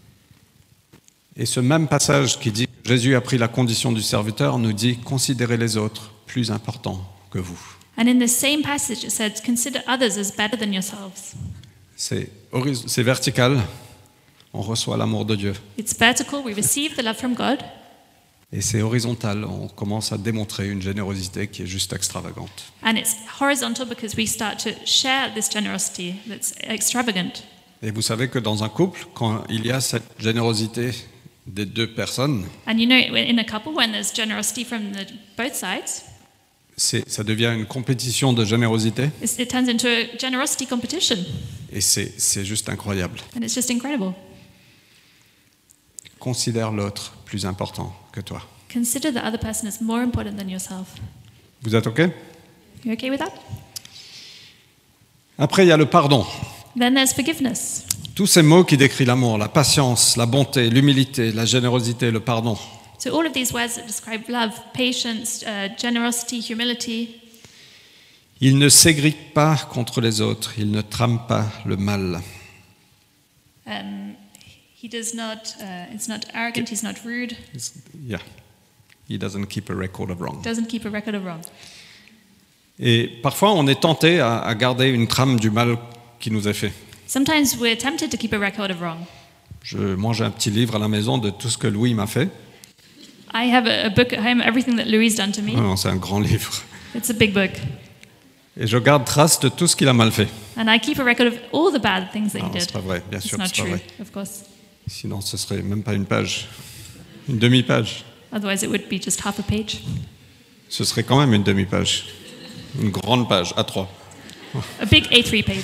Et ce même passage qui dit que Jésus a pris la condition du serviteur nous dit, considérez les autres plus importants que vous. And in the same passage, it says, consider others as better than yourselves. C'est vertical, on reçoit l'amour de Dieu. It's vertical, we receive the love from God. Et c'est horizontal, on commence à démontrer une générosité qui est juste extravagante. And it's horizontal because we start to share this generosity that's extravagant. Et vous savez que dans un couple, quand il y a cette générosité des deux personnes, And you know, in a couple, when there's generosity from both sides, ça devient une compétition de générosité. it turns into a generosity competition. Et c'est juste incroyable. And it's just incredible. Considère l'autre plus important que toi. Consider the other person as more important than yourself. Vous êtes OK? You okay with that? Après, il y a le pardon. Then there's forgiveness. Tous ces mots qui décrivent l'amour, la patience, la bonté, l'humilité, la générosité, le pardon. So all of these words that describe love, patience, generosity, humility, Il ne s'égrippe pas contre les autres, il ne trame pas le mal. he does not, it's not arrogant, he's not rude, Yeah. He doesn't keep a record of wrong. doesn't keep a record of wrong. Et parfois, on est tenté à garder une trame du mal qui nous est fait. Sometimes we're tempted to keep a record of wrong. Moi, j'ai un petit livre à la maison de tout ce que Louis m'a fait. I have a book at home, everything that Louis done to me. Non, c'est un grand livre. It's a big book. Et je garde trace de tout ce qu'il a mal fait. And I keep a record of all the bad things that he Non, did. c'est pas vrai, bien It's sûr, not c'est pas true, vrai. of course. Sinon, ce serait même pas une page, une demi-page. Otherwise, it would be just half a page. Ce serait quand même une demi-page, une grande page, A3. A big A3 page.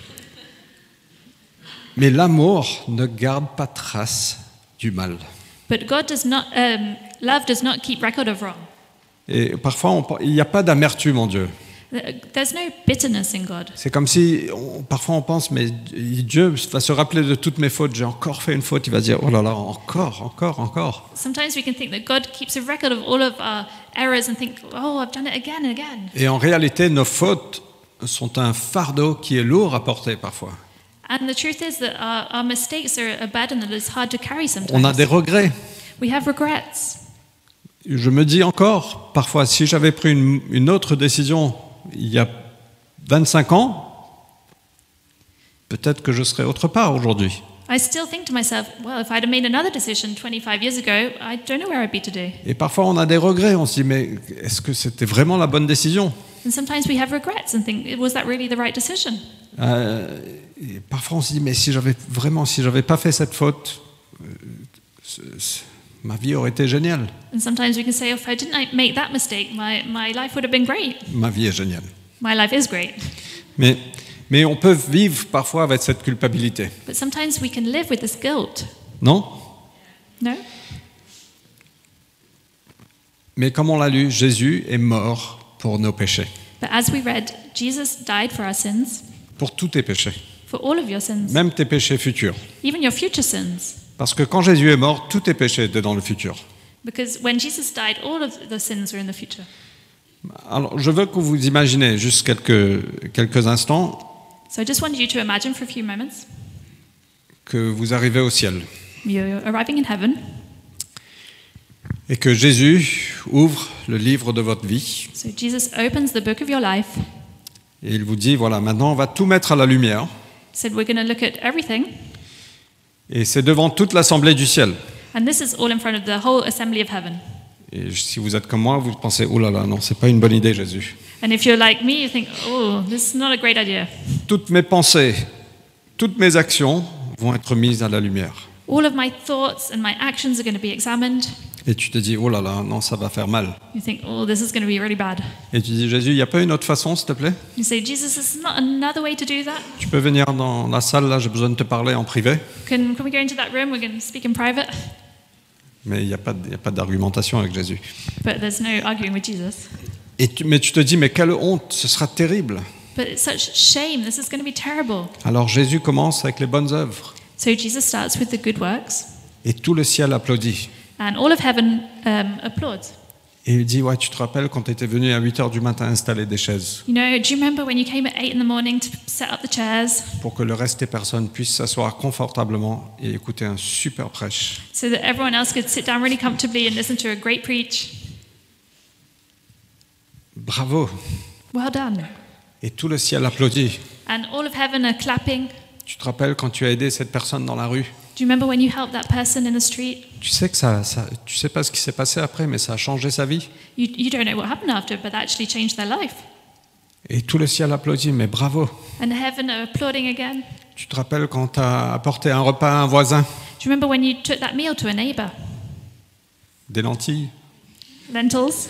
Mais l'amour ne garde pas trace du mal. But God does not, love does not keep record of wrong. Et parfois, il n'y a pas d'amertume en Dieu. There's no bitterness in God. C'est comme si, parfois on pense, mais Dieu va se rappeler de toutes mes fautes. J'ai encore fait une faute. Il va dire, oh là là, encore. Sometimes we can think that God keeps a record of all of our errors and think, oh, I've done it again and again. Et en réalité, nos fautes sont un fardeau qui est lourd à porter parfois. And the truth is that our mistakes are a burden that is hard to carry sometimes. On a des regrets. We have regrets. Je me dis encore, parfois, si j'avais pris une autre décision il y a 25 ans, peut-être que je serais autre part aujourd'hui. I still think to myself, well, if I'd have made another decision 25 years ago, I don't know where I'd be today. Et parfois, on a des regrets. On se dit, mais est-ce que c'était vraiment la bonne décision ? And sometimes we have regrets and think, was that really the right decision? Et parfois, on se dit, mais si j'avais pas fait cette faute, ma vie aurait été géniale. And sometimes we can say, if I didn't make that mistake, my life would have been great. Ma vie est géniale. My life is great. Mais on peut vivre parfois avec cette culpabilité. But sometimes we can live with this guilt. Non? No? Mais comme on l'a lu, Jésus est mort pour nos péchés. But as we read, Jesus died for our sins, Pour tous tes péchés. for all of your sins, Même tes péchés futurs. even your future sins. Parce que quand Jésus est mort, tous tes péchés étaient dans le futur. Because when Jesus died, all of the sins were in the future. Alors, je veux que vous imaginez juste quelques instants So I just wanted you to imagine for a few moments que vous arrivez au ciel you're arriving in heaven. et que Jésus ouvre le livre de votre vie So Jesus opens the book of your life, et il vous dit, voilà, maintenant on va tout mettre à la lumière said we're going to look at everything, et c'est devant toute l'assemblée du ciel. and this is all in front of the whole assembly of heaven. Et si vous êtes comme moi, vous pensez, oh là là, non, c'est pas une bonne idée, Jésus. And if you're like me, you think, oh, this is not a great idea. Toutes mes pensées, toutes mes actions vont être mises à la lumière. All of my thoughts and my actions are going to be examined. Et tu te dis, oh là là, non, ça va faire mal. You think, oh, this is going to be really bad. Et tu dis, Jésus, il n'y a pas une autre façon, s'il te plaît? You say, Jesus, is not another way to do that? Tu peux venir dans la salle, là, j'ai besoin de te parler en privé. Can we go into that room? We're going to speak in private. Mais il n'y a pas d'argumentation avec Jésus. But there's no arguing with Jesus. Mais tu te dis, mais quelle honte, ce sera terrible. But it's such shame. This is going to be terrible. Alors Jésus commence avec les bonnes œuvres. So Jesus starts with the good works, Et tout le ciel applaudit. and all of heaven applauds. Et il dit, ouais, tu te rappelles quand tu étais venu à 8h du matin installer des chaises You know, do you remember when you came at 8 in the morning to set up the chairs pour que le reste des personnes puissent s'asseoir confortablement et écouter un super prêche. so that everyone else could sit down really comfortably and listen to a great preach? Bravo. Well done. Et tout le ciel applaudit. And all of heaven are clapping. Tu te rappelles quand tu as aidé cette personne dans la rue? Do you remember when you helped that person in the street? Tu sais que tu sais pas ce qui s'est passé après, mais ça a changé sa vie. You don't know what happened after, but that actually changed their life. Et tout le ciel applaudit, mais bravo. And heaven are applauding again. Tu te rappelles quand tu as apporté un repas à un voisin? Do you remember when you took that meal to a neighbor? Des lentilles. Lentils.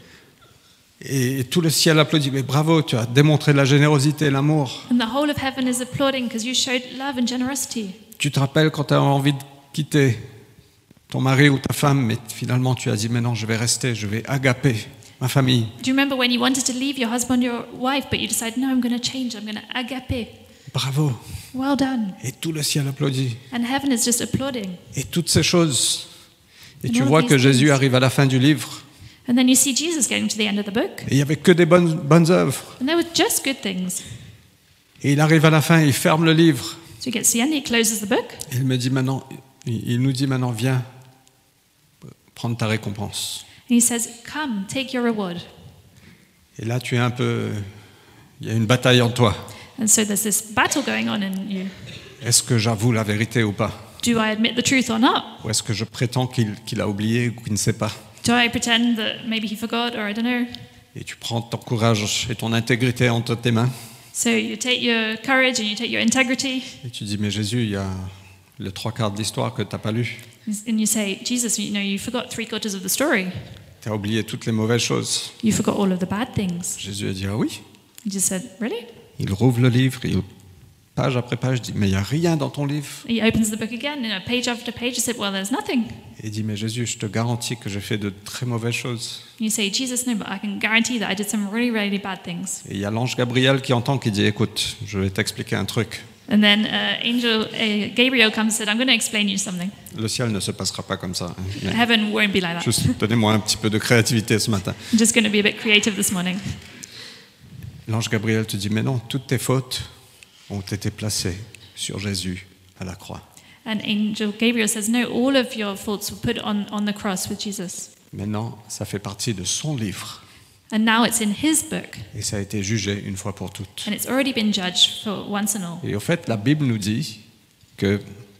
Et tout le ciel applaudit, mais bravo, tu as démontré de la générosité et l'amour. And the whole of heaven is applauding because you showed love and generosity. Tu te rappelles quand tu as envie de quitter ton mari ou ta femme, mais finalement tu as dit, mais non, je vais rester, je vais agaper ma famille. Do you remember when you wanted to leave your husband, your wife, but you decided, no, I'm going to change, I'm going to agape? Bravo. Well done. Et tout le ciel applaudit. And heaven is just applauding. Et toutes ces choses. Et And tu all vois these que Jésus things. arrive à la fin du livre. And then you see Jesus getting to the end of the book. Et il n'y avait que des bonnes œuvres. And there were just good things. Et il arrive à la fin, il ferme le livre. So he gets to the end, he closes the book. Et il nous dit maintenant, viens prendre ta récompense. And he says, come, take your reward. Et là, il y a une bataille en toi. And so there's this battle going on in you. Est-ce que j'avoue la vérité ou pas? Do I admit the truth or not? Ou est-ce que je prétends qu'il a oublié ou qu'il ne sait pas? Do I pretend that maybe he forgot or I don't know? Et tu prends ton courage et ton intégrité entre tes mains. So you take your courage and you take your integrity Et tu dis, mais Jésus, il y a le 3/4 de l'histoire que tu n'as pas lu. and you say, Jesus, you know, you forgot 3/4 of the story. Tu as oublié toutes les mauvaises choses. You forgot all of the bad things. Jésus a dit, ah oui. He just said, really? Il rouvre le livre, page après page, dit, mais il n'y a rien dans ton livre. He opens the book again, and page after page, he said, well, there's nothing. Et il dit, mais Jésus, je te garantis que j'ai fait de très mauvaises choses. You say, Jesus, no, but I can guarantee that I did some really, really bad things. Et il y a l'ange Gabriel qui entend, qui dit, écoute, je vais t'expliquer un truc. And then Gabriel comes and said, I'm going to explain you something. Le ciel ne se passera pas comme ça. Hein. Mais Heaven won't be like that. juste, donnez-moi un petit peu de créativité ce matin. I'm just going to be a bit creative this morning. L'ange Gabriel te dit, mais non, toutes tes fautes ont été placées sur Jésus à la croix. And Angel Gabriel says, no, all of your faults were put on the cross with Jesus. Maintenant, ça fait partie de son livre. And now it's in his book. Et ça a été jugé une fois pour toutes. And it's already been judged for once and all. Et au fait, la Bible nous dit que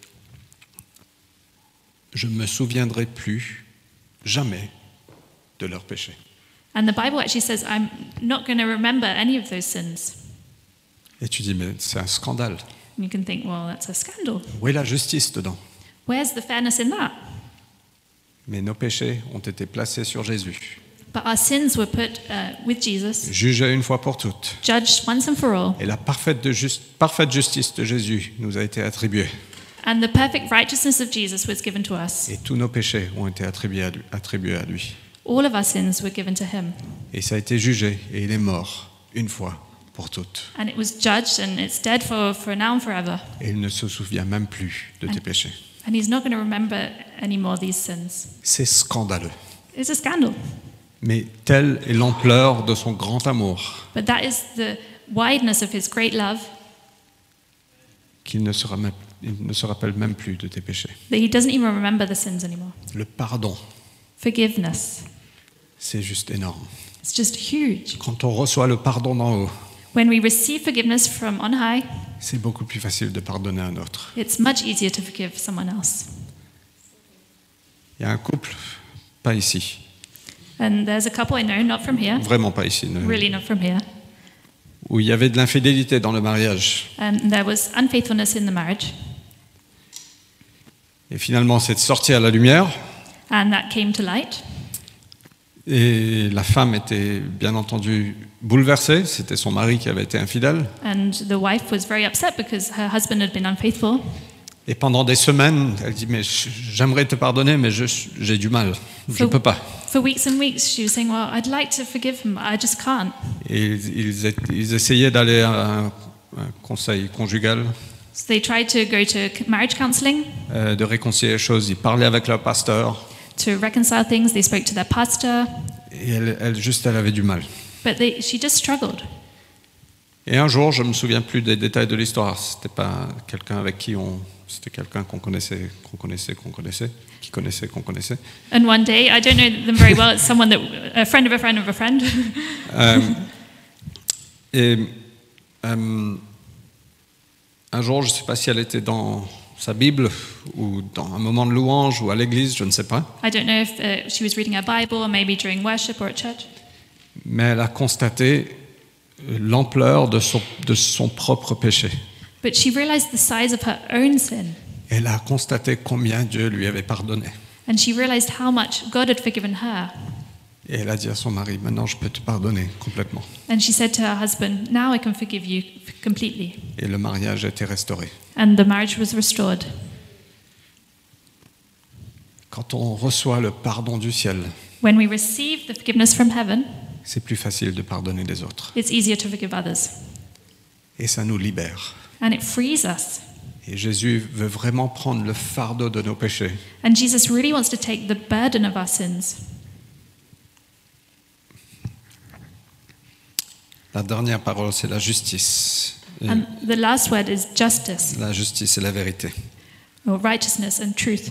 je ne me souviendrai plus jamais de leurs péchés. And the Bible actually says, I'm not going to remember any of those sins. Et tu dis, mais c'est un scandale. And you can think, well, that's a scandal. Où est la justice dedans? Where's the fairness in that? Mais nos péchés ont été placés sur Jésus, But our sins were put with Jesus, jugés une fois pour toutes. judged once and for all, Et la parfaite justice de Jésus nous a été attribuée. and the perfect righteousness of Jesus was given to us. Et tous nos péchés ont été attribués à lui. All of our sins were given to him. Et ça a été jugé et il est mort une fois pour toutes. And it was judged and it's dead for now and forever. Et il ne se souvient même plus de tes péchés. And he's not going to remember anymore these sins. C'est scandaleux. It's a scandal. Mais telle est l'ampleur de son grand amour But that is the wideness of his great love qu'il il ne se rappelle même plus de tes péchés. that he doesn't even remember the sins anymore. Le pardon, Forgiveness. c'est juste énorme. It's just huge. Quand on reçoit le pardon d'en haut, When we receive forgiveness from on high, c'est beaucoup plus facile de pardonner à un autre. it's much easier to forgive someone else. Il y a un couple, pas ici, And there's a couple I know, not from here, vraiment pas ici, really not from here, où il y avait de l'infidélité dans le mariage. and there was unfaithfulness in the marriage, Et finalement, c'est sorti à la lumière. and that came to light. Et la femme était bien entendu bouleversée. C'était son mari qui avait été infidèle. And the wife was very upset because her husband had been unfaithful. Et pendant des semaines, elle dit, mais j'aimerais te pardonner, mais j'ai du mal. Je ne peux pas. For weeks and weeks, she was saying, well, I'd like to forgive him, I just can't. Et ils essayaient d'aller à un conseil conjugal, So they tried to go to marriage counseling de réconcilier les choses. Ils parlaient avec leur pasteur. to reconcile things. They spoke to their pastor, Et elle avait du mal. but she just struggled. Et un jour, je me souviens plus des détails de l'histoire. C'était pas quelqu'un avec qui c'était quelqu'un qu'on connaissait. And one day, I don't know them very well, it's someone a friend of a friend of a friend. Un jour, je ne sais pas si elle était dans sa Bible ou dans un moment de louange ou à l'église, je ne sais pas. I don't know if she was reading her Bible or maybe during worship or at church. Mais elle a constaté l'ampleur de son propre péché. But she realized the size of her own sin. Elle a constaté combien Dieu lui avait pardonné. And she realized how much God had forgiven her. Et elle a dit à son mari, maintenant je peux te pardonner complètement. And she said to her husband, now I can forgive you completely. Et le mariage a été restauré. And the marriage was restored. Quand on reçoit le pardon du ciel, When we receive the forgiveness from heaven, c'est plus facile de pardonner les autres. it's easier to forgive others. Et ça nous libère. And it frees us. Et Jésus veut vraiment prendre le fardeau de nos péchés. And Jesus really wants to take the burden of our sins. La dernière parole, c'est la justice. Et And the last word is justice, la justice et la vérité. or righteousness and truth.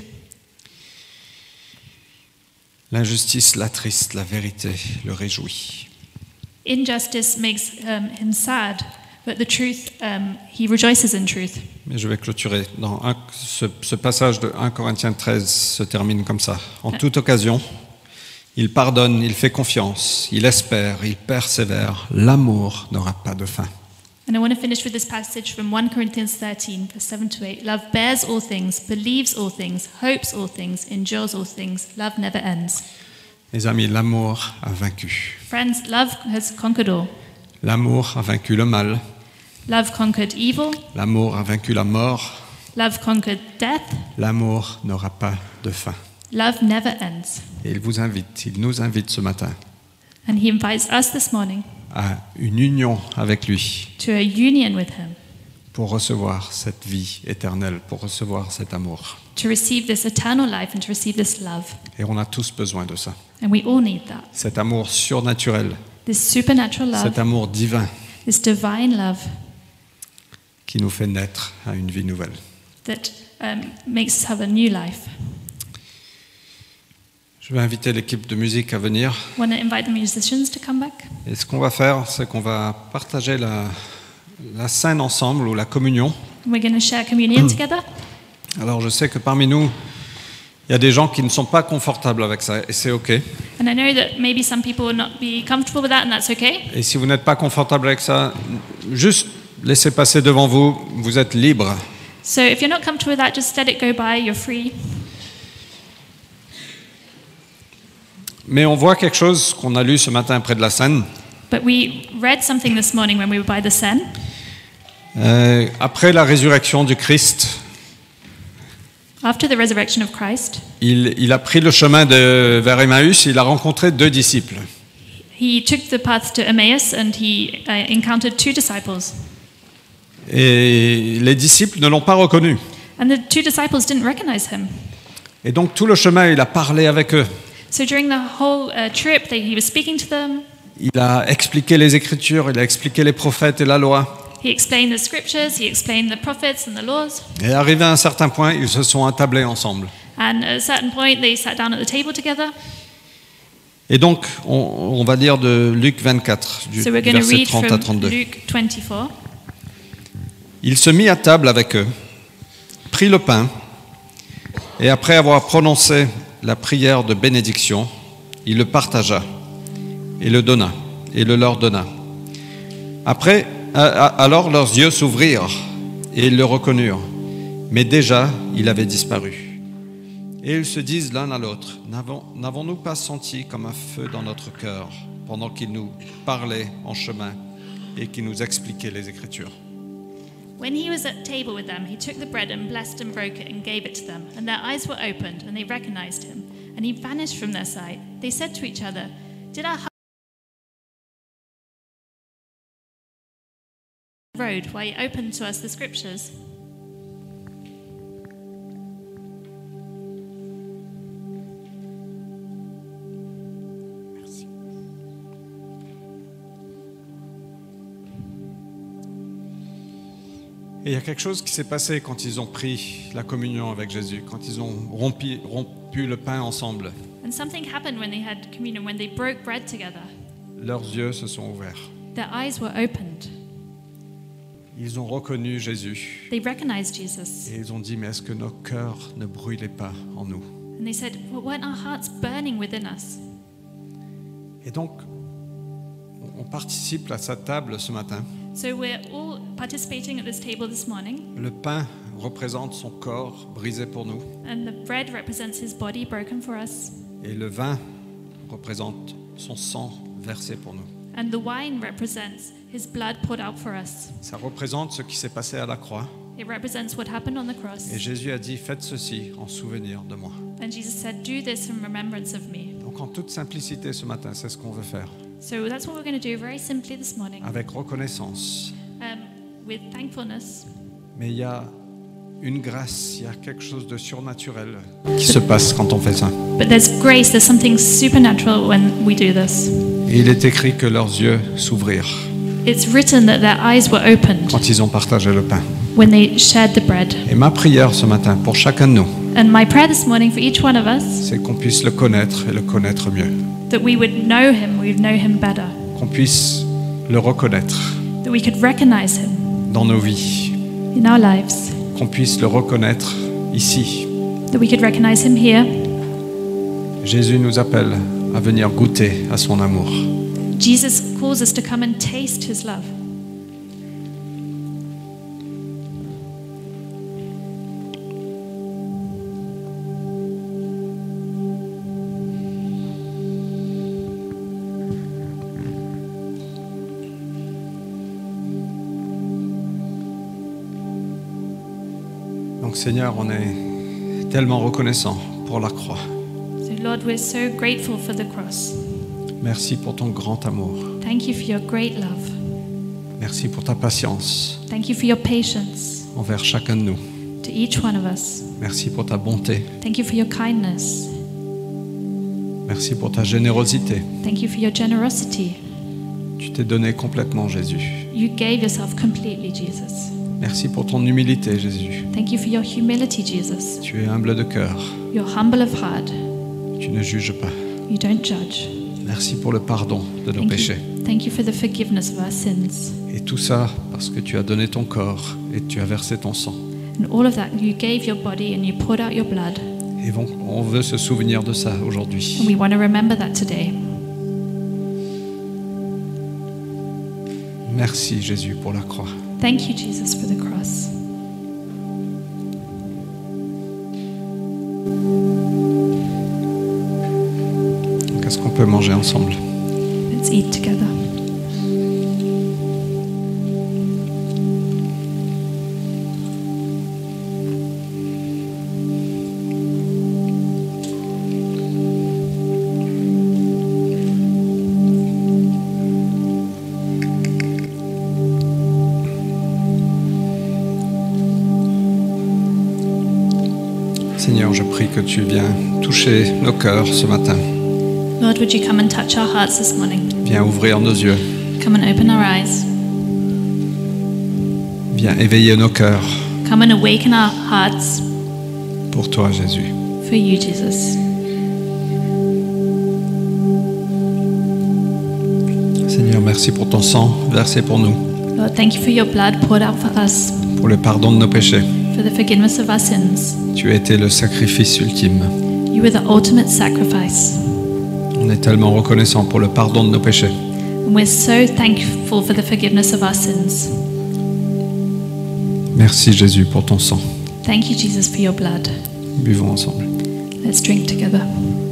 L'injustice l'attriste, la vérité le réjouit. Injustice makes him sad, but the truth, he rejoices in truth. Mais je vais clôturer. Ce passage de 1 Corinthiens 13 se termine comme ça. En toute occasion, il pardonne, il fait confiance, il espère, il persévère. L'amour n'aura pas de fin. And I want to finish with this passage from 1 Corinthians 13, verse 7 to 8. Love bears all things, believes all things, hopes all things, endures all things. Love never ends. Mes amis, l'amour a vaincu. Friends, love has conquered all. L'amour a vaincu le mal. Love conquered evil. L'amour a vaincu la mort. Love conquered death. L'amour n'aura pas de fin. Love never ends. Et il nous invite ce matin And he invites us this morning à une union avec lui to a union with him, pour recevoir cette vie éternelle, pour recevoir cet amour. to receive this eternal life and to receive this love. Et on a tous besoin de ça. And we all need that. Cet amour surnaturel, This supernatural love, cet amour divin this divine love qui nous fait naître à une vie nouvelle. that makes us have a new life. Je vais inviter l'équipe de musique à venir. I want to invite the musicians to come back. Et ce qu'on va faire, c'est qu'on va partager la scène ensemble ou la communion. We're going to share communion together. Alors je sais que parmi nous, il y a des gens qui ne sont pas confortables avec ça et c'est OK. And I know that maybe some people will not be comfortable with that, and that's okay. Et si vous n'êtes pas confortable avec ça, juste laissez passer devant vous, vous êtes libre. So if you're not comfortable with that, just let it go by, you're free. Mais on voit quelque chose qu'on a lu ce matin près de la Seine. But we read something this morning when we were by the Seine. Après la résurrection du Christ, After the resurrection of Christ, il a pris le chemin vers Emmaüs, il a rencontré 2 disciples. he took the path to Emmaus and he encountered 2 disciples. Et les disciples ne l'ont pas reconnu. And the 2 disciples didn't recognize him. Et donc tout le chemin, il a parlé avec eux. So during the whole trip, he was speaking to them. Il a expliqué les Écritures, il a expliqué les prophètes et la loi. He explained the scriptures, he explained the prophets and the laws. Et arrivé à un certain point, ils se sont attablés ensemble. And at a certain point, they sat down at the table together. Et donc, on va lire de Luc 24, du So we're going to verset read 30 à from 32. Luke 24. Il se mit à table avec eux, prit le pain, et après avoir prononcé la prière de bénédiction, il le partagea, et le donna, et le leur donna. Après, alors leurs yeux s'ouvrirent, et ils le reconnurent, mais déjà il avait disparu. Et ils se disent l'un à l'autre, n'avons-nous pas senti comme un feu dans notre cœur, pendant qu'il nous parlait en chemin, et qu'il nous expliquait les Écritures? When he was at table with them, he took the bread and blessed and broke it and gave it to them. And their eyes were opened, and they recognized him. And he vanished from their sight. They said to each other, "Did our hearts road while he opened to us the scriptures?" Et il y a quelque chose qui s'est passé quand ils ont pris la communion avec Jésus, quand ils ont rompu le pain ensemble. And something happened when they had communion, when they broke bread together. Leurs yeux se sont ouverts. Their eyes were opened. Ils ont reconnu Jésus. They recognized Jesus. Et ils ont dit, mais est-ce que nos cœurs ne brûlaient pas en nous? And they said, well, weren't our hearts burning within us? Et donc, on participe à sa table ce matin. So we're all participating at this table this morning. Le pain représente son corps brisé pour nous. And the bread represents his body broken for us. Et le vin représente son sang versé pour nous. And the wine represents his blood poured out for us. Ça représente ce qui s'est passé à la croix. It represents what happened on the cross. Et Jésus a dit, faites ceci en souvenir de moi. And Jesus said, do this in remembrance of me. Donc en toute simplicité ce matin, c'est ce qu'on veut faire. So that's what we're going to do very simply this morning. Avec reconnaissance. With thankfulness. Mais il y a une grâce, il y a quelque chose de surnaturel qui se passe quand on fait ça. But there's grace, there's something supernatural when we do this. Et il est écrit que leurs yeux s'ouvrirent It's written that their eyes were opened quand ils ont partagé le pain. when they shared the bread. Et ma prière ce matin pour chacun de nous, And my prayer this morning for each one of us, c'est qu'on puisse le connaître et le connaître mieux. that we would know him, we would know him better. Qu'on puisse le reconnaître That we could recognize him dans nos vies. in our lives. Qu'on puisse le reconnaître ici. That we could recognize him here. Jésus nous appelle à venir goûter à son amour. Jesus calls us to come and taste his love. Donc Seigneur, on est tellement reconnaissant pour la croix. So Lord, we're so grateful for the cross. Merci pour ton grand amour. Thank you for your great love. Merci pour ta patience Thank you for your patience envers chacun de nous. to each one of us. Merci pour ta bonté. Thank you for your kindness. Merci pour ta générosité. Thank you for your generosity. Tu t'es donné complètement, Jésus. You gave yourself completely, Jesus. Merci pour ton humilité, Jésus. Thank you for your humility, Jesus. Tu es humble de cœur. You're humble of heart. Tu ne juges pas. You don't judge. Merci pour le pardon de nos péchés. Thank you for the forgiveness of our sins. Et tout ça parce que tu as donné ton corps et tu as versé ton sang. And all of that, you gave your body and you poured out your blood. Et on veut se souvenir de ça aujourd'hui. And we want to remember that today. Merci, Jésus, pour la croix. Thank you, Jesus, for the cross. Qu'est-ce peut manger ensemble. Let's eat together. Seigneur, je prie que tu viens toucher nos cœurs ce matin. Lord, would you come and touch our hearts this morning? Viens ouvrir nos yeux. Come and open our eyes. Viens éveiller nos cœurs Come and awaken our hearts pour toi, Jésus. for you, Jesus. Seigneur, merci pour ton sang versé pour nous, Lord, thank you for your blood poured out for us, pour le pardon de nos péchés. for the forgiveness of our sins. Tu as été le sacrifice ultime. You were the ultimate sacrifice. On est tellement reconnaissant pour le pardon de nos péchés. And we're so thankful for the forgiveness of our sins. Merci Jésus pour ton sang. Thank you, Jesus, for your blood. Buvons ensemble. Let's drink together.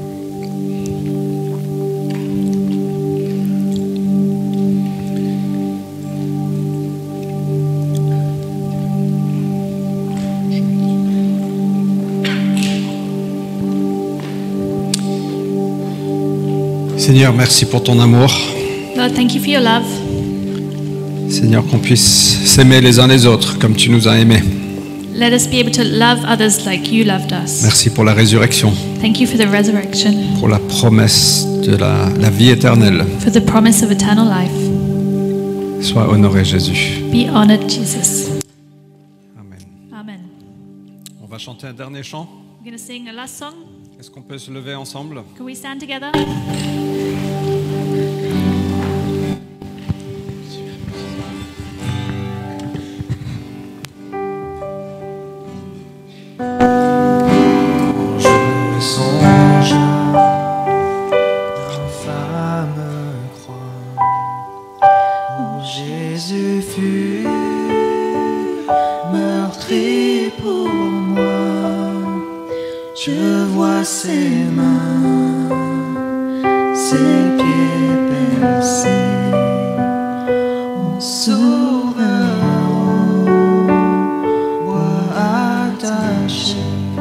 Seigneur, merci pour ton amour. Lord, thank you for your love. Seigneur, qu'on puisse s'aimer les uns les autres comme tu nous as aimés. Let us be able to love others like you loved us. Merci pour la résurrection, Thank you for the resurrection, pour la promesse de la vie éternelle. for the promise of eternal life. Sois honoré Jésus. Be honored, Jesus. Amen. Amen. On va chanter un dernier chant. We're going to sing a last song. Est-ce qu'on peut se lever ensemble? Can we stand together? Je songe l'infâme croix où Jésus fut meurtri pour moi. Je vois ses mains, ses pieds percés, mon sauveur au bois attaché.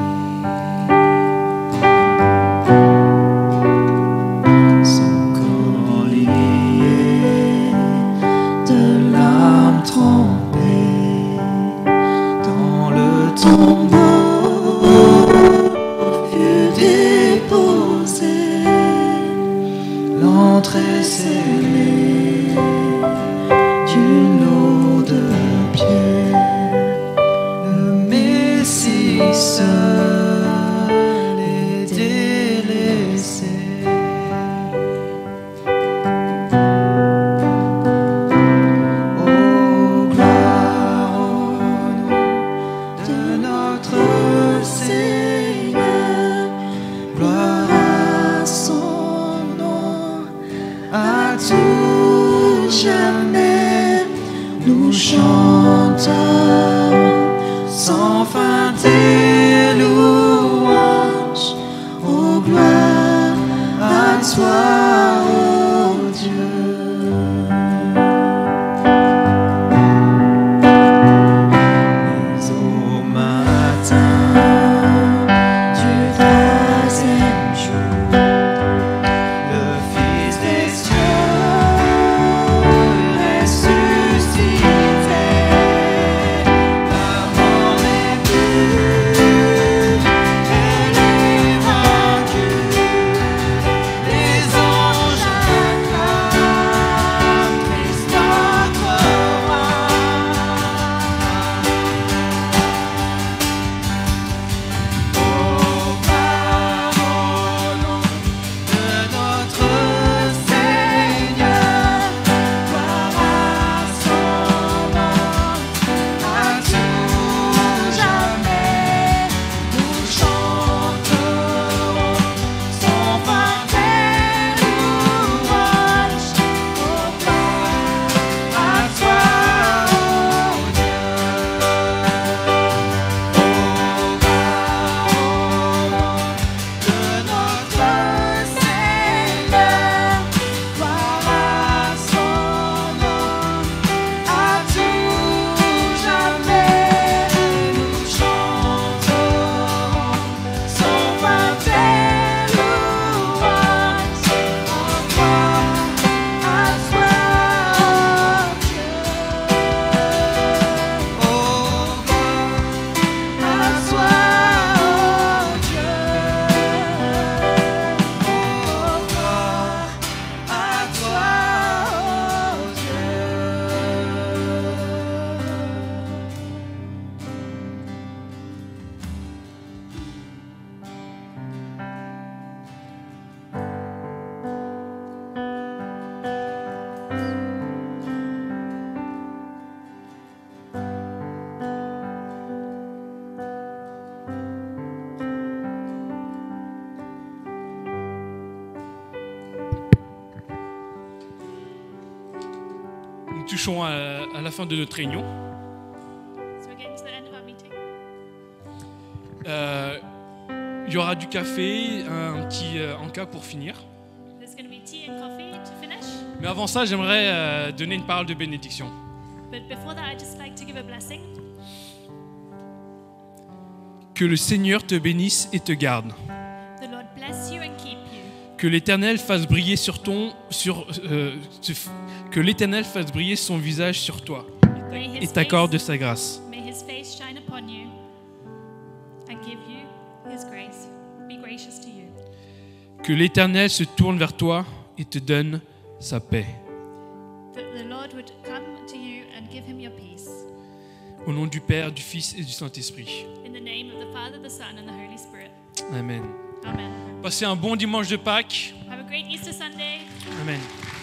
Son corps lié, de l'âme trempée, dans le tombeau fut déposé, l'entrée scellée d'une eau de pierre, le Messie seul est délaissé. Oh, gloire au nom de notre Seigneur, gloire à son nom, à tout jamais. Nous chantons sans fin tes louanges. Oh, gloire à toi, oh Dieu. Mais au matin du troisième jour, le Fils des cieux ressuscité, la mort n'est plus, elle est vaincue. Les Nous touchons à la fin de notre réunion. So we're getting to the end of our meeting. Il y aura du café, un petit encas pour finir. There's going to be tea and coffee to finish. Mais avant ça, j'aimerais donner une parole de bénédiction. But before that, I'd just like to give a blessing. Que le Seigneur te bénisse et te garde. The Lord bless you and keep you. Que l'Éternel fasse briller que l'Éternel fasse briller son visage sur toi May et his t'accorde face, sa grâce. may his face shine upon you and give you his grace. Be gracious to you. Que l'Éternel se tourne vers toi et te donne sa paix. That the Lord would come to you and give him your peace. Au nom du Père, du Fils et du Saint-Esprit. In the name of the Father, the Son, and the Holy Spirit. Amen. Amen. Passez un bon dimanche de Pâques. Have a great Easter Sunday. Amen.